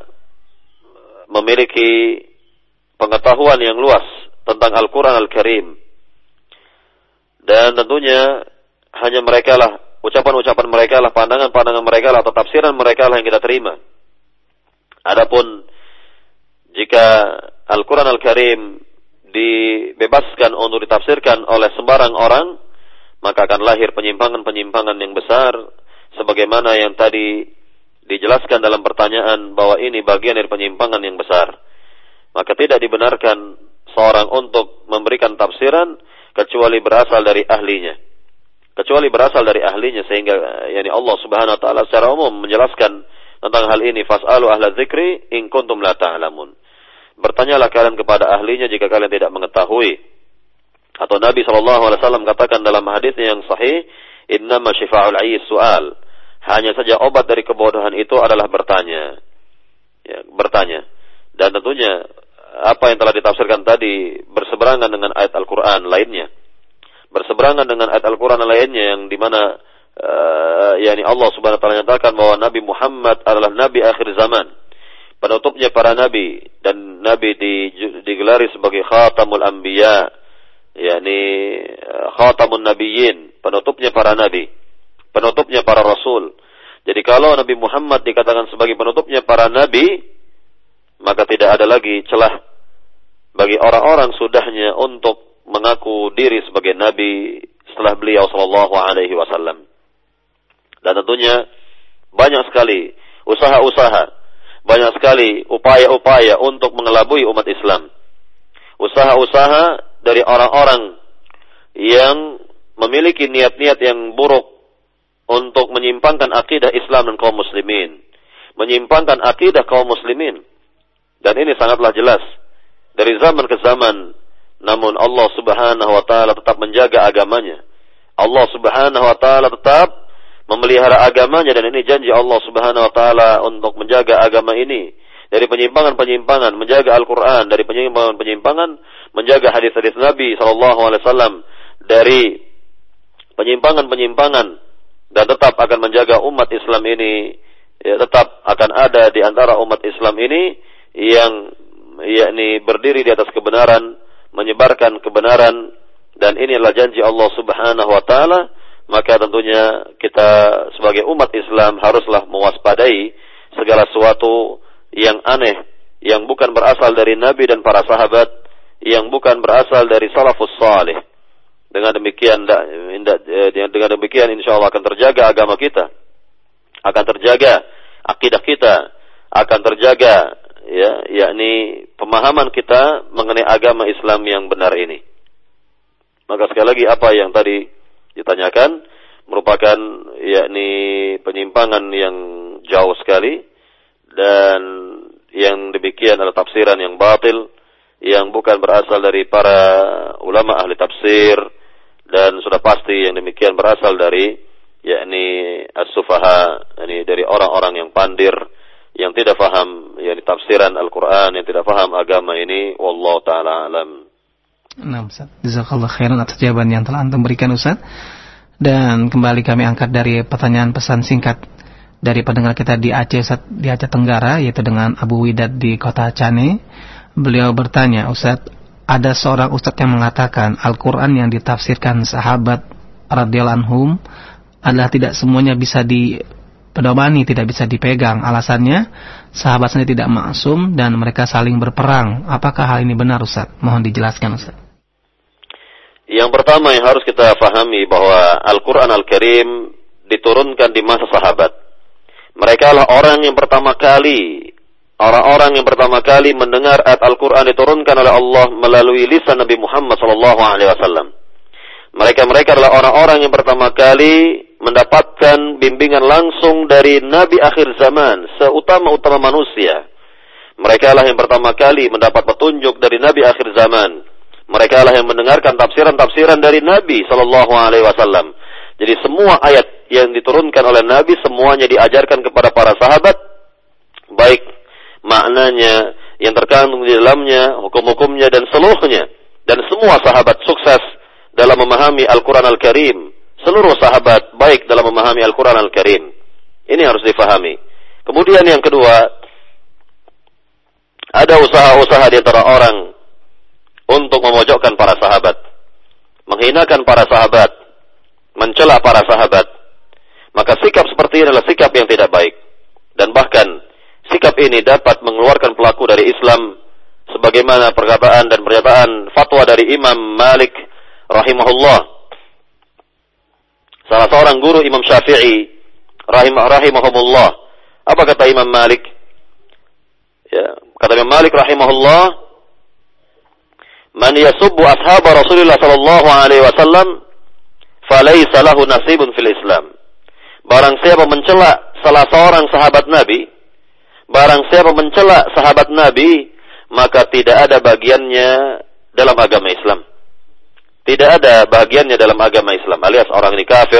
memiliki pengetahuan yang luas tentang Al-Quran Al-Karim. Dan tentunya hanya mereka lah, ucapan-ucapan mereka lah, pandangan-pandangan mereka lah, atau tafsiran mereka lah yang kita terima. Adapun jika Al-Quran Al-Karim dibebaskan untuk ditafsirkan oleh sembarang orang, maka akan lahir penyimpangan-penyimpangan yang besar, sebagaimana yang tadi dijelaskan dalam pertanyaan bahwa ini bagian dari penyimpangan yang besar. Maka tidak dibenarkan seorang untuk memberikan tafsiran kecuali berasal dari ahlinya. Sehingga Allah Subhanahu wa taala secara umum menjelaskan tentang hal ini, fas'alu ahla dzikri in kuntum la ta'lamun. Bertanyalah kalian kepada ahlinya jika kalian tidak mengetahui. Atau Nabi SAW katakan dalam hadis yang sahih, innama syifa'ul 'ayyi su'al. Hanya saja obat dari kebodohan itu adalah bertanya. Bertanya. Dan tentunya apa yang telah ditafsirkan tadi berseberangan dengan ayat Al-Quran lainnya. Berseberangan dengan ayat Al-Quran lainnya yang dimana Allah Subhanahu wa taala nyatakan bahwa Nabi Muhammad adalah Nabi akhir zaman, penutupnya para nabi, dan Nabi digelari sebagai Khatamul Anbiya, Khatamun Nabiyyin, penutupnya para nabi, penutupnya para rasul. Jadi kalau Nabi Muhammad dikatakan sebagai penutupnya para nabi, maka tidak ada lagi celah bagi orang-orang sudahnya untuk mengaku diri sebagai nabi setelah beliau sallallahu alaihi wasallam. Dan tentunya banyak sekali usaha-usaha, banyak sekali upaya-upaya untuk mengelabui umat Islam. Usaha-usaha dari orang-orang yang memiliki niat-niat yang buruk untuk menyimpangkan akidah Islam dan kaum muslimin, menyimpangkan akidah kaum muslimin. Dan ini sangatlah jelas dari zaman ke zaman. Namun Allah Subhanahu wa taala tetap menjaga agamanya. Allah Subhanahu wa taala tetap memelihara agamanya, dan ini janji Allah Subhanahu wa taala untuk menjaga agama ini dari penyimpangan-penyimpangan, menjaga Al-Qur'an dari penyimpangan-penyimpangan, menjaga hadis-hadis Nabi sallallahu alaihi wasallam dari penyimpangan-penyimpangan, dan tetap akan menjaga umat Islam ini, ya, tetap akan ada di antara umat Islam ini yang yakni berdiri di atas kebenaran, menyebarkan kebenaran, dan inilah janji Allah Subhanahu wa taala. Maka tentunya kita sebagai umat Islam haruslah mewaspadai segala sesuatu yang aneh, yang bukan berasal dari Nabi dan para sahabat, yang bukan berasal dari salafus salih. Dengan demikian insyaallah akan terjaga agama kita, akan terjaga akidah kita, akan terjaga yakni pemahaman kita mengenai agama Islam yang benar ini. Maka sekali lagi apa yang tadi ditanyakan merupakan yakni penyimpangan yang jauh sekali, dan yang demikian adalah tafsiran yang batil yang bukan berasal dari para ulama ahli tafsir, dan sudah pasti yang demikian berasal dari yakni as-sufaha, yakni dari orang-orang yang pandir, yang tidak faham yakni tafsiran Al-Qur'an, yang tidak faham agama ini. Wallahu taala alam. Nah, Ustaz, jazakallahu khairan atas jawaban yang telah Antum berikan, Ustaz. Dan kembali kami angkat dari pertanyaan pesan singkat dari pendengar kita di Aceh, Ustaz, di Aceh Tenggara, yaitu dengan Abu Widat di Kota Cane. Beliau bertanya, Ustaz, ada seorang Ustaz yang mengatakan Al-Quran yang ditafsirkan sahabat radhiyallahu anhum adalah tidak semuanya bisa dipedomani, tidak bisa dipegang. Alasannya, sahabat sendiri tidak maksum dan mereka saling berperang. Apakah hal ini benar, Ustaz? Mohon dijelaskan, Ustaz. Yang pertama yang harus kita fahami bahwa Al-Quran Al-Karim diturunkan di masa sahabat. Mereka lah orang-orang yang pertama kali mendengar ayat Al-Quran diturunkan oleh Allah melalui lisan Nabi Muhammad SAW. Mereka adalah orang-orang yang pertama kali mendapatkan bimbingan langsung dari Nabi akhir zaman, seutama-utama manusia. Mereka lah yang pertama kali mendapat petunjuk dari Nabi akhir zaman. Mereka lah yang mendengarkan tafsiran-tafsiran dari Nabi SAW. Jadi semua ayat yang diturunkan oleh Nabi semuanya diajarkan kepada para sahabat, baik maknanya yang terkandung di dalamnya, hukum-hukumnya dan seluruhnya. Dan semua sahabat sukses dalam memahami Al-Quran Al-Karim. Seluruh sahabat baik dalam memahami Al-Quran Al-Karim. Ini harus difahami. Kemudian yang kedua, ada usaha-usaha di antara orang untuk memojokkan para sahabat, menghinakan para sahabat, mencela para sahabat. Maka sikap seperti ini adalah sikap yang tidak baik. Dan bahkan sikap ini dapat mengeluarkan pelaku dari Islam, sebagaimana perkataan dan pernyataan fatwa dari Imam Malik rahimahullah, salah seorang guru Imam Syafi'i rahimahumullah. Apa kata Imam Malik? Ya, kata Imam Malik rahimahullah, man yasubbu ashab Rasulullah sallallahu alaihi wasallam falaysa lahu nasibun fil Islam. Barang siapa mencela salah seorang sahabat Nabi, maka tidak ada bagiannya dalam agama Islam. Tidak ada bagiannya dalam agama Islam, alias orang ini kafir,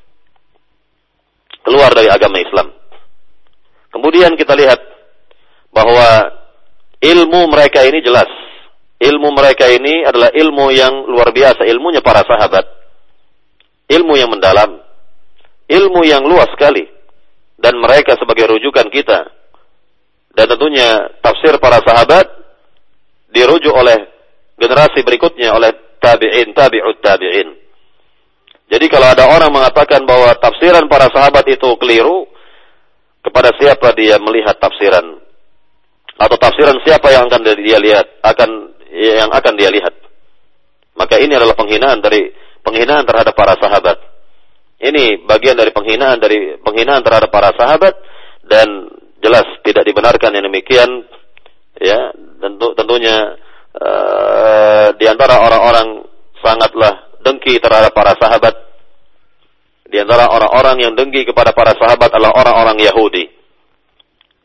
keluar dari agama Islam. Kemudian kita lihat bahwa ilmu mereka ini jelas. Ilmu mereka ini adalah ilmu yang luar biasa, ilmunya para sahabat. Ilmu yang mendalam, ilmu yang luas sekali. Dan mereka sebagai rujukan kita. Dan tentunya tafsir para sahabat dirujuk oleh generasi berikutnya, oleh tabi'in, tabi'ut tabi'in. Jadi kalau ada orang mengatakan bahwa tafsiran para sahabat itu keliru, kepada siapa dia melihat tafsiran? Atau tafsiran siapa yang akan dia lihat? Yang akan dia lihat. Maka ini adalah penghinaan terhadap para sahabat. Ini bagian dari penghinaan terhadap para sahabat, dan jelas tidak dibenarkan yang demikian. Ya, tentunya di antara orang-orang sangatlah dengki terhadap para sahabat. Di antara orang-orang yang dengki kepada para sahabat adalah orang-orang Yahudi.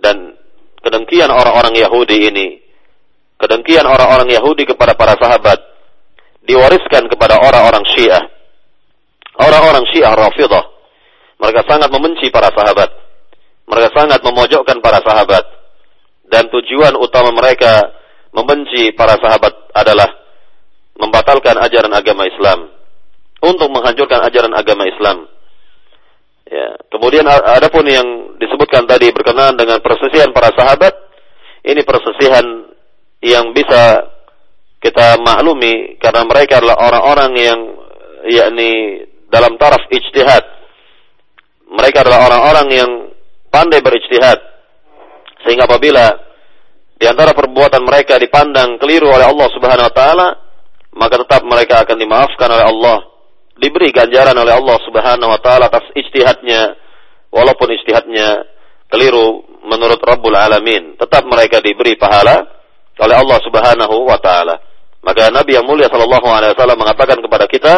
Dan kedengkian orang-orang Yahudi ini, kedengkian orang-orang Yahudi kepada para sahabat diwariskan kepada orang-orang Syiah. Orang-orang Syiah Rafidhah, mereka sangat membenci para sahabat. Mereka sangat memojokkan para sahabat. Dan tujuan utama mereka membenci para sahabat adalah membatalkan ajaran agama Islam, untuk menghancurkan ajaran agama Islam. Ya, kemudian adapun yang disebutkan tadi berkenaan dengan persisihan para sahabat, ini persisihan yang bisa kita maklumi karena mereka adalah orang-orang yang yakni dalam taraf ijtihad. Mereka adalah orang-orang yang pandai berijtihad, sehingga apabila di antara perbuatan mereka dipandang keliru oleh Allah Subhanahu wa taala, maka tetap mereka akan dimaafkan oleh Allah, diberi ganjaran oleh Allah Subhanahu wa taala atas ijtihadnya, walaupun ijtihadnya keliru menurut Rabbul Alamin, tetap mereka diberi pahala oleh Allah Subhanahu wa taala. Maka Nabi yang mulia sallallahu alaihi wasallam mengatakan kepada kita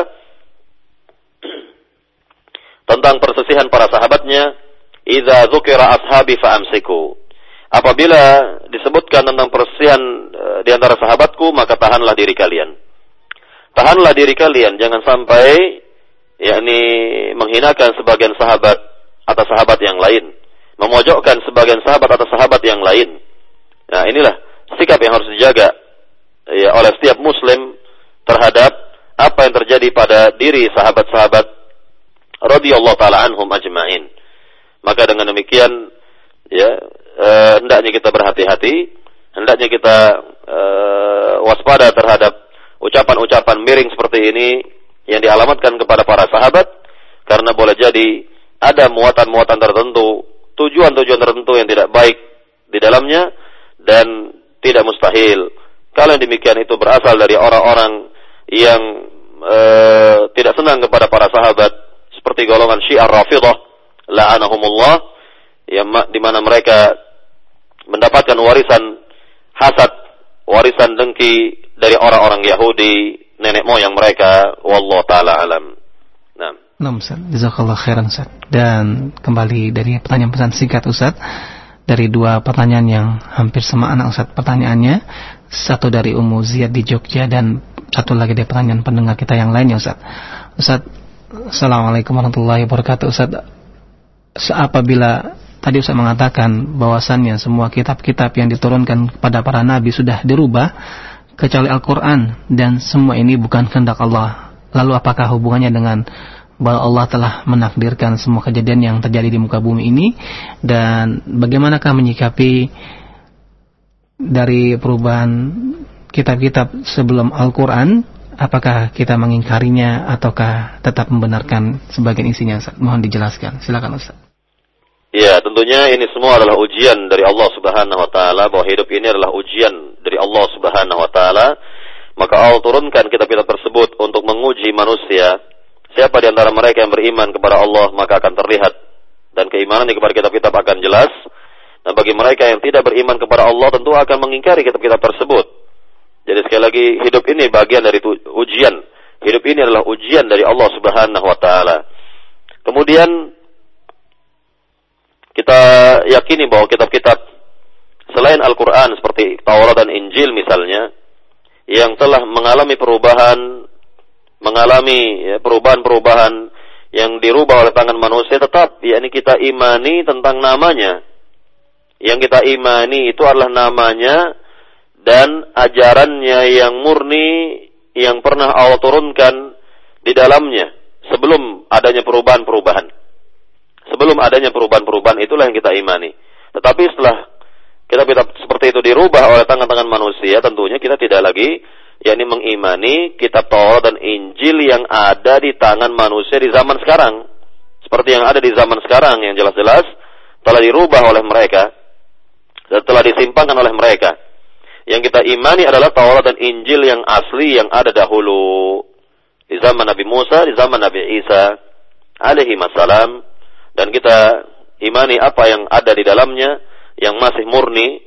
tentang persisihan para sahabatnya, "Idza dzukira ashabi fa'amsiku." Apabila disebutkan tentang persisihan di antara sahabatku, maka tahanlah diri kalian. Tahanlah diri kalian, jangan sampai yakni menghinakan sebagian sahabat atas sahabat yang lain, memojokkan sebagian sahabat atas sahabat yang lain. Nah, inilah sikap yang harus dijaga ya oleh setiap muslim terhadap apa yang terjadi pada diri sahabat-sahabat radhiyallahu taala anhum ajma'in. Maka dengan demikian ya hendaknya kita berhati-hati, hendaknya kita waspada terhadap ucapan-ucapan miring seperti ini yang dialamatkan kepada para sahabat, karena boleh jadi ada muatan-muatan tertentu, tujuan-tujuan tertentu yang tidak baik di dalamnya, dan tidak mustahil kalau yang demikian itu berasal dari orang-orang yang tidak senang kepada para sahabat, seperti golongan Syiah Rafidhah la'anahumullah, yang di mana mereka mendapatkan warisan hasad, warisan dengki dari orang-orang Yahudi, nenek moyang mereka. Wallahu taala alam. Nah, Ustaz, jazakallahu khairan Ustaz. Dan kembali dari pertanyaan pesan singkat Ustaz, dari dua pertanyaan yang hampir semakna Ustaz pertanyaannya, satu dari Ummu Ziyad di Jogja dan satu lagi dari pertanyaan pendengar kita yang lainnya Ustaz. Ustaz, Assalamualaikum warahmatullahi wabarakatuh. Ustaz, apabila tadi Ustaz mengatakan bahwasannya semua kitab-kitab yang diturunkan kepada para nabi sudah dirubah kecuali Al-Quran, dan semua ini bukan kehendak Allah, lalu apakah hubungannya dengan bahwa Allah telah menakdirkan semua kejadian yang terjadi di muka bumi ini, dan bagaimanakah menyikapi dari perubahan kitab-kitab sebelum Al-Quran? Apakah kita mengingkarinya ataukah tetap membenarkan sebagian isinya? Ustaz, mohon dijelaskan. Silakan Ustaz. Ya, tentunya ini semua adalah ujian dari Allah Subhanahu wa taala, bahwa hidup ini adalah ujian dari Allah Subhanahu wa taala. Maka Allah turunkan kitab-kitab tersebut untuk menguji manusia. Siapa di antara mereka yang beriman kepada Allah, maka akan terlihat, dan keimanan kepada kitab-kitab akan jelas. Dan bagi mereka yang tidak beriman kepada Allah, tentu akan mengingkari kitab-kitab tersebut. Jadi sekali lagi, hidup ini bagian dari ujian. Hidup ini adalah ujian dari Allah Subhanahu wa taala. Kemudian kita yakini bahwa kitab-kitab selain Al-Quran seperti Taurat dan Injil misalnya, yang telah mengalami perubahan yang dirubah oleh tangan manusia, tetap yakni kita imani tentang namanya. Yang kita imani itu adalah namanya dan ajarannya yang murni, yang pernah Allah turunkan di dalamnya sebelum adanya perubahan-perubahan. Sebelum adanya perubahan-perubahan, itulah yang kita imani. Tetapi setelah kitab-kitab seperti itu dirubah oleh tangan-tangan manusia, tentunya kita tidak lagi yakni mengimani kitab Taurat dan Injil yang ada di tangan manusia di zaman sekarang. Seperti yang ada di zaman sekarang, yang jelas-jelas telah dirubah oleh mereka dan telah disimpangkan oleh mereka. Yang kita imani adalah Taurat dan Injil yang asli, yang ada dahulu di zaman Nabi Musa, di zaman Nabi Isa alaihi wassalam. Dan kita imani apa yang ada di dalamnya, yang masih murni,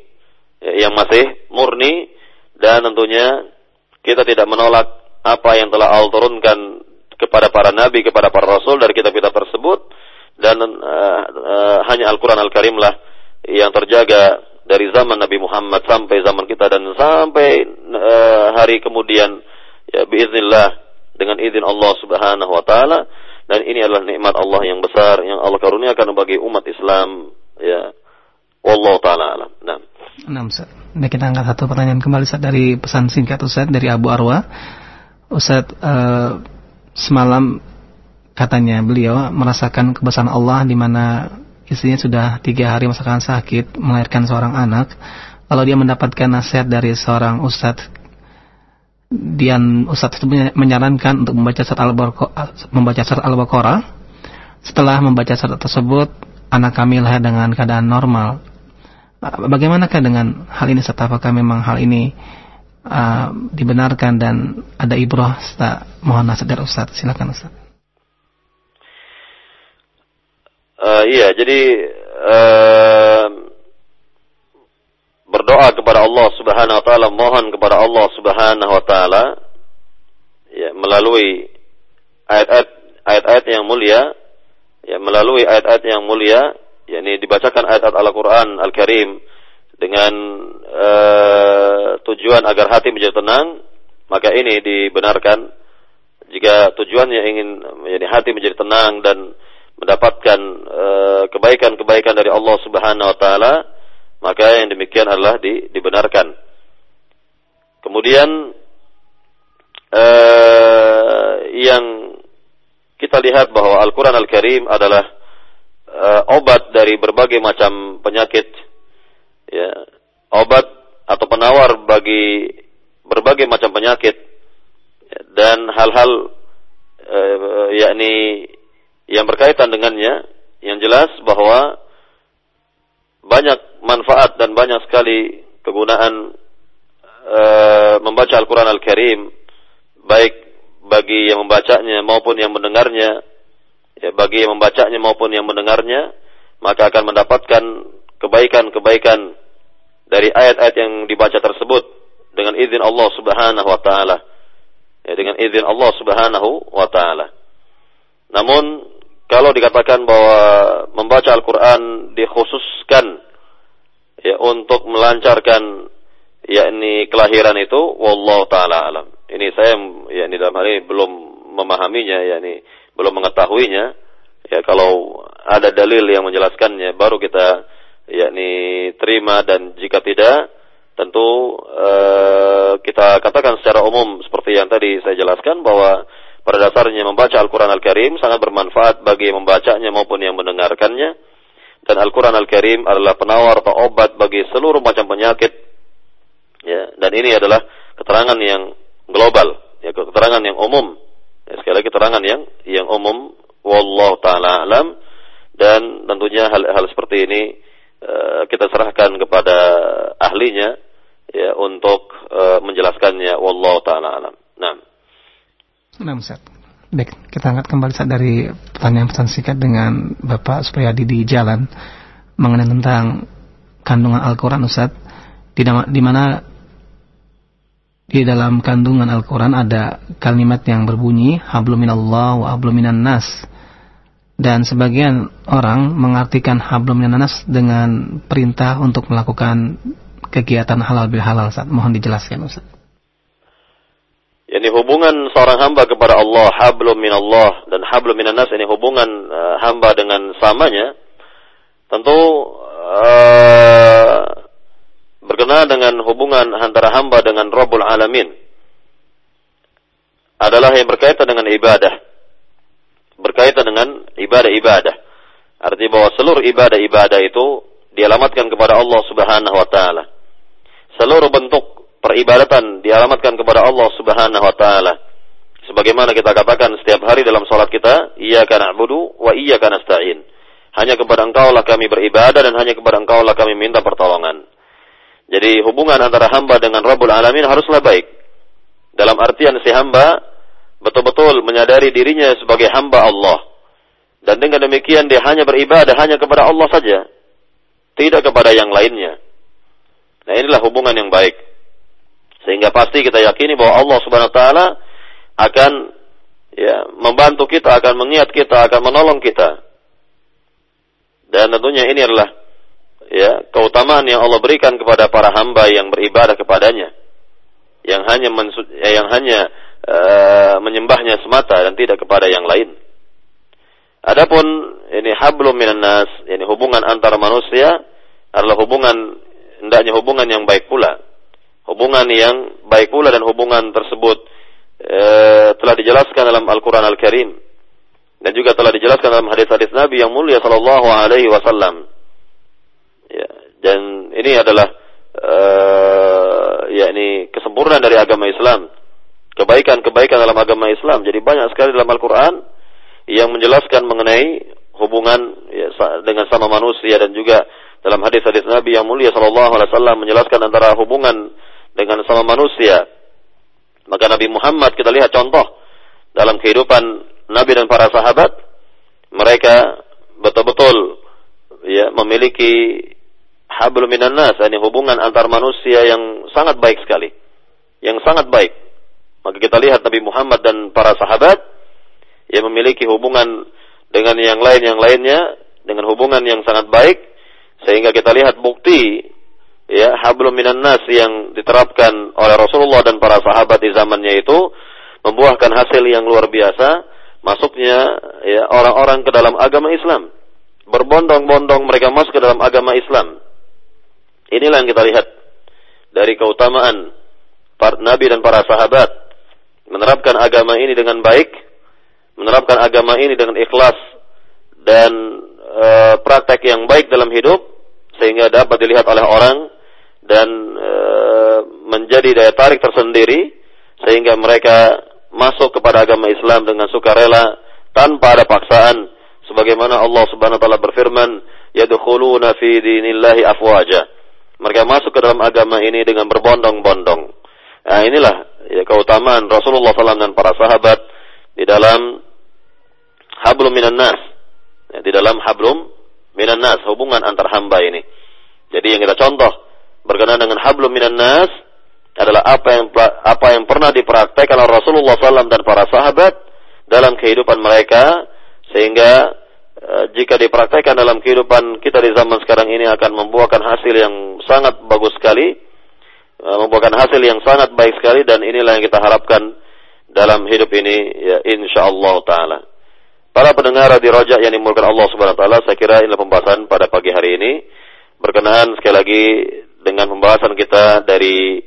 dan tentunya kita tidak menolak apa yang telah Allah turunkan kepada para nabi, kepada para rasul dari kitab-kitab tersebut, dan hanya Al-Quran Al-Karim lah yang terjaga dari zaman Nabi Muhammad sampai zaman kita dan sampai hari kemudian, ya biiznillah, dengan izin Allah Subhanahu wa taala. Dan ini adalah nikmat Allah yang besar yang Allah karuniakan bagi umat Islam, ya. Wallahu taala alam. Nah, Ustaz. Nah, kita angkat satu pertanyaan kembali, Ustaz, dari pesan singkat Ustaz dari Abu Arwa. Ustaz, semalam katanya beliau merasakan kebesaran Allah di mana istrinya sudah 3 hari merasakan sakit, melahirkan seorang anak. Lalu dia mendapatkan nasihat dari seorang Ustaz. Ustaz itu menyarankan untuk membaca surat Al-Baqarah. Setelah membaca surat tersebut, anak kami lahir dengan keadaan normal. Bagaimanakah dengan hal ini, Ustaz? Apakah memang hal ini dibenarkan dan ada ibrah? Ustaz, mohon nasihat dari Ustaz. Silakan, Ustaz. Iya, jadi berdoa kepada Allah Subhanahu wa taala, mohon kepada Allah Subhanahu wa taala, ya, melalui ayat-ayat yang mulia, ya, melalui ayat-ayat yang mulia, yakni dibacakan ayat-ayat Al-Qur'an Al-Karim dengan tujuan agar hati menjadi tenang, maka ini dibenarkan. Jika tujuannya ingin menjadi hati menjadi tenang dan mendapatkan kebaikan-kebaikan dari Allah Subhanahu wa taala, maka yang demikian adalah dibenarkan. Kemudian yang kita lihat bahwa Al-Quran Al-Karim adalah obat dari berbagai macam penyakit, ya, obat atau penawar bagi berbagai macam penyakit, ya, dan hal-hal yakni yang berkaitan dengannya. Yang jelas bahwa banyak manfaat dan banyak sekali kegunaan membaca Al-Quran Al-Karim, baik bagi yang membacanya maupun yang mendengarnya, ya, bagi yang membacanya maupun yang mendengarnya, maka akan mendapatkan kebaikan-kebaikan dari ayat-ayat yang dibaca tersebut dengan izin Allah Subhanahu wa taala, ya, dengan izin Allah Subhanahu wa taala. Namun kalau dikatakan bahwa membaca Al-Quran dikhususkan, ya, untuk melancarkan yakni kelahiran itu, wallahu taala alam. Ini saya yakni dalam hal ini belum memahaminya, yakni belum mengetahuinya. Ya, kalau ada dalil yang menjelaskannya baru kita yakni terima, dan jika tidak tentu kita katakan secara umum seperti yang tadi saya jelaskan bahwa pada dasarnya membaca Al-Quran Al-Karim sangat bermanfaat bagi yang membacanya maupun yang mendengarkannya. Dan Al-Quran Al-Karim adalah penawar atau obat bagi seluruh macam penyakit, ya, dan ini adalah keterangan yang global, ya, keterangan yang umum, ya, sekali lagi keterangan yang umum, wallahu ta'ala alam. Dan tentunya hal seperti ini kita serahkan kepada ahlinya, ya, untuk menjelaskannya, wallahu ta'ala alam. Nah, Ustaz. Baik, kita angkat kembali, Ustaz, dari pertanyaan pesan singkat dengan Bapak Supriyadi di Jalan mengenai tentang kandungan Al-Quran, Ustaz. Di mana di dalam kandungan Al-Quran ada kalimat yang berbunyi hablum minallah wa hablum minan nas. Dan sebagian orang mengartikan hablum minan nas dengan perintah untuk melakukan kegiatan halal bil halal, Ustaz. Mohon dijelaskan, Ustaz. Ini hubungan seorang hamba kepada Allah, hablum minallah dan hablum minan nas, ini hubungan hamba dengan samanya. Tentu berkenaan dengan hubungan antara hamba dengan Rabbul Alamin adalah yang berkaitan dengan ibadah. Berkaitan dengan ibadah-ibadah. Artinya bahwa seluruh ibadah-ibadah itu dialamatkan kepada Allah Subhanahu wa taala. Seluruh bentuk peribadatan dialamatkan kepada Allah Subhanahu wa taala. Sebagaimana kita katakan setiap hari dalam salat kita, iyyaka na'budu wa iyyaka nasta'in. Hanya kepada Engkau lah kami beribadah dan hanya kepada Engkau lah kami minta pertolongan. Jadi hubungan antara hamba dengan Rabbul Alamin haruslah baik. Dalam artian si hamba betul-betul menyadari dirinya sebagai hamba Allah. Dan dengan demikian dia hanya beribadah hanya kepada Allah saja, tidak kepada yang lainnya. Nah, inilah hubungan yang baik. Sehingga pasti kita yakini bahwa Allah Subhanahu wa taala akan, ya, membantu kita, akan mengingat kita, akan menolong kita. Dan tentunya ini adalah ya, keutamaan yang Allah berikan kepada para hamba yang beribadah kepadanya, yang hanya menyembahnya semata dan tidak kepada yang lain. Adapun ini hablum minan nas, ini hubungan antara manusia adalah hendaknya hubungan yang baik pula. Hubungan yang baik pula, dan hubungan tersebut telah dijelaskan dalam Al-Quran Al-Karim dan juga telah dijelaskan dalam hadis-hadis Nabi yang mulia sallallahu alaihi wasallam. Ya, dan ini adalah yakni kesempurnaan dari agama Islam. Kebaikan-kebaikan dalam agama Islam jadi banyak sekali dalam Al-Quran yang menjelaskan mengenai hubungan dengan sama manusia, dan juga dalam hadis-hadis Nabi yang mulia sallallahu alaihi wasallam menjelaskan antara hubungan dengan sama manusia. Maka Nabi Muhammad, kita lihat contoh dalam kehidupan Nabi dan para sahabat, mereka betul-betul memiliki hablum minan nas, ini hubungan antar manusia yang sangat baik sekali, yang sangat baik. Maka kita lihat Nabi Muhammad dan para sahabat yang memiliki hubungan dengan yang lainnya dengan hubungan yang sangat baik, sehingga kita lihat bukti hablum minan nas yang diterapkan oleh Rasulullah dan para sahabat di zamannya itu membuahkan hasil yang luar biasa, masuknya orang-orang ke dalam agama Islam. Berbondong-bondong mereka masuk ke dalam agama Islam. Inilah yang kita lihat dari keutamaan para Nabi dan para sahabat, menerapkan agama ini dengan baik, menerapkan agama ini dengan ikhlas dan praktek yang baik dalam hidup, sehingga dapat dilihat oleh orang dan menjadi daya tarik tersendiri, sehingga mereka masuk kepada agama Islam dengan sukarela tanpa ada paksaan, sebagaimana Allah Subhanahu wa taala berfirman, yadkhuluna fi dinillahi afwaja. Mereka masuk ke dalam agama ini dengan berbondong-bondong. Nah, inilah keutamaan Rasulullah SAW dan para sahabat di dalam hablum minan nas, di dalam hablum minan nas, hubungan antar hamba ini. Jadi yang kita contoh berkenaan dengan hablum minan nas adalah apa yang pernah dipraktekkan oleh Rasulullah SAW dan para sahabat dalam kehidupan mereka, sehingga jika dipraktekkan dalam kehidupan kita di zaman sekarang ini akan membuahkan hasil yang sangat bagus sekali, membuahkan hasil yang sangat baik sekali, dan inilah yang kita harapkan dalam hidup ini, insyaallah taala. Para pendengar di Raja yang dimulakan Allah Subhanahu wa taala, saya kira inilah pembahasan pada pagi hari ini berkenaan sekali lagi dengan pembahasan kita dari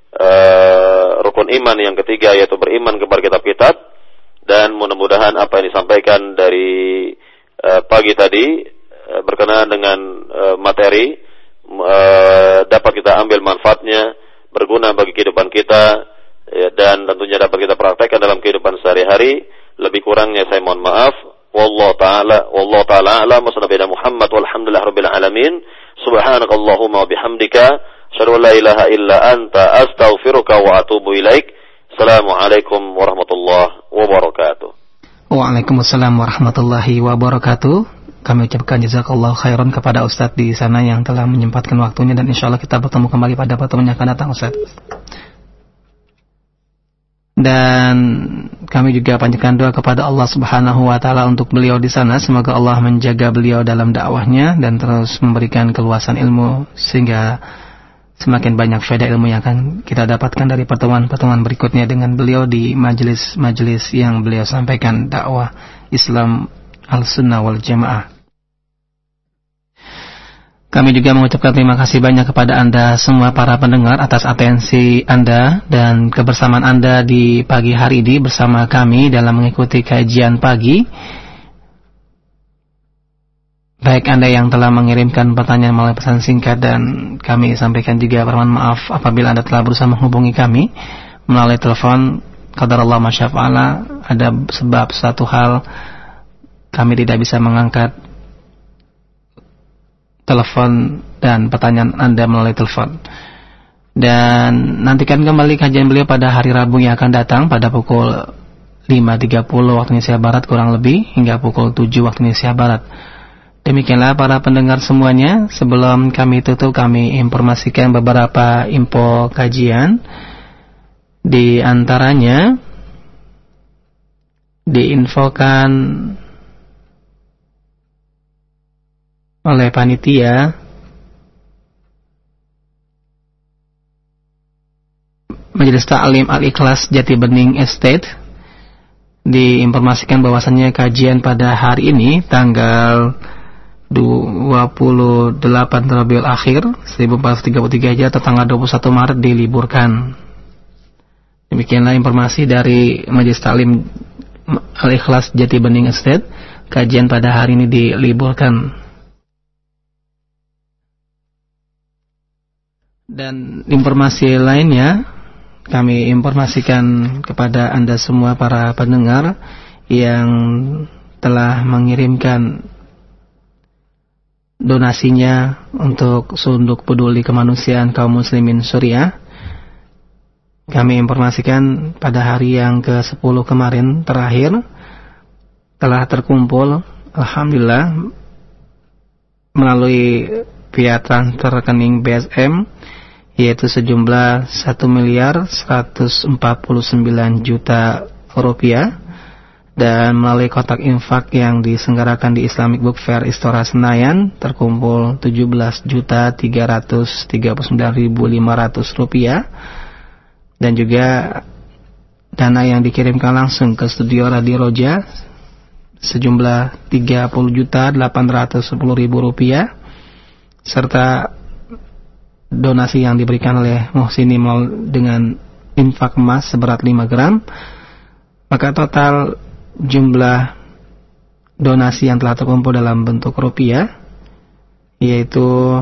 rukun iman yang ketiga, yaitu beriman kepada kitab-kitab. Dan mudah-mudahan apa yang disampaikan dari pagi tadi berkenaan dengan materi dapat kita ambil manfaatnya, berguna bagi kehidupan kita, dan tentunya dapat kita praktekkan dalam kehidupan sehari-hari. Lebih kurangnya saya mohon maaf. Wallahu ta'ala a'lam. Wassalamu Muhammad walhamdulillah rabbil alamin. Subhanakallahumma wa bihamdika asyhadu an la ilaha illa anta astaghfiruka wa atubu ilaik. Assalamualaikum warahmatullahi wabarakatuh. Waalaikumsalam warahmatullahi wabarakatuh. Kami ucapkan jazakallahu khairan kepada Ustaz di sana yang telah menyempatkan waktunya, dan insyaallah kita bertemu kembali pada pertemuan yang akan datang, Ustaz. Dan kami juga panjatkan doa kepada Allah Subhanahu wa taala untuk beliau di sana, semoga Allah menjaga beliau dalam dakwahnya dan terus memberikan keluasan ilmu, sehingga semakin banyak faedah ilmu yang akan kita dapatkan dari pertemuan-pertemuan berikutnya dengan beliau di majelis-majelis yang beliau sampaikan dakwah Islam Al-Sunnah wal Jamaah. Kami juga mengucapkan terima kasih banyak kepada Anda semua para pendengar atas atensi Anda dan kebersamaan Anda di pagi hari ini bersama kami dalam mengikuti kajian pagi. Baik Anda yang telah mengirimkan pertanyaan melalui pesan singkat, dan kami sampaikan juga permohonan maaf apabila Anda telah berusaha menghubungi kami melalui telepon. Qadarullah ma syaa fa'ala, ada sebab satu hal kami tidak bisa mengangkat telepon dan pertanyaan Anda melalui telepon. Dan nantikan kembali kajian beliau pada hari Rabu yang akan datang pada pukul 5.30 waktu Indonesia Barat kurang lebih, hingga pukul 7 waktu Indonesia Barat. Demikianlah para pendengar semuanya. Sebelum kami tutup, kami informasikan beberapa info kajian. Di antaranya diinfokan oleh panitia Majelis Ta'lim Al-Ikhlas Jati Bening Estate diinformasikan bahwasannya kajian pada hari ini tanggal 28 Rabiul Akhir 1433 Hijriah atau tanggal 21 Maret diliburkan. Demikianlah informasi dari Majelis Ta'lim Al-Ikhlas Jati Bening Estate. Kajian pada hari ini diliburkan. Dan informasi lainnya kami informasikan kepada Anda semua para pendengar yang telah mengirimkan donasinya untuk Sunduk Peduli Kemanusiaan Kaum Muslimin Suriah. Kami informasikan pada hari yang ke-10 kemarin terakhir telah terkumpul, alhamdulillah, melalui via transfer rekening BSM, yaitu sejumlah 1.149 juta rupiah, dan melalui kotak infak yang diselenggarakan di Islamic Book Fair Istora Senayan terkumpul 17.339.500 rupiah, dan juga dana yang dikirimkan langsung ke studio Radio Roja sejumlah 30.810.000 rupiah, serta donasi yang diberikan oleh Muhsini Mal dengan infak emas seberat 5 gram. Maka total jumlah donasi yang telah terkumpul dalam bentuk rupiah yaitu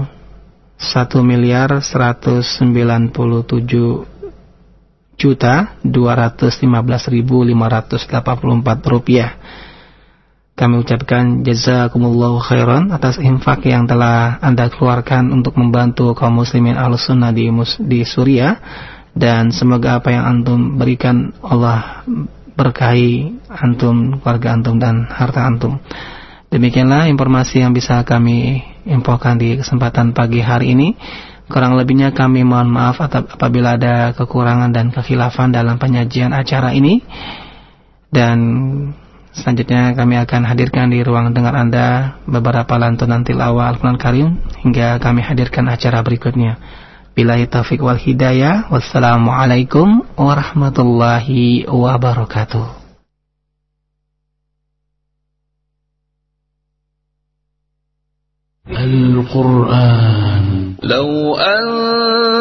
1.197.215.584 rupiah. Kami ucapkan jazakumullahu khairan atas infak yang telah Anda keluarkan untuk membantu kaum muslimin Ahlussunnah di Suriah, dan semoga apa yang antum berikan Allah berkahi antum, keluarga antum, dan harta antum. Demikianlah informasi yang bisa kami infokan di kesempatan pagi hari ini. Kurang lebihnya kami mohon maaf apabila ada kekurangan dan kekhilafan dalam penyajian acara ini. Dan selanjutnya kami akan hadirkan di ruang dengar Anda beberapa lantunan tilawah Al-Quran Karim hingga kami hadirkan acara berikutnya. Billahi taufiq wal hidayah. Wassalamualaikum warahmatullahi wabarakatuh. Al-Quran. Law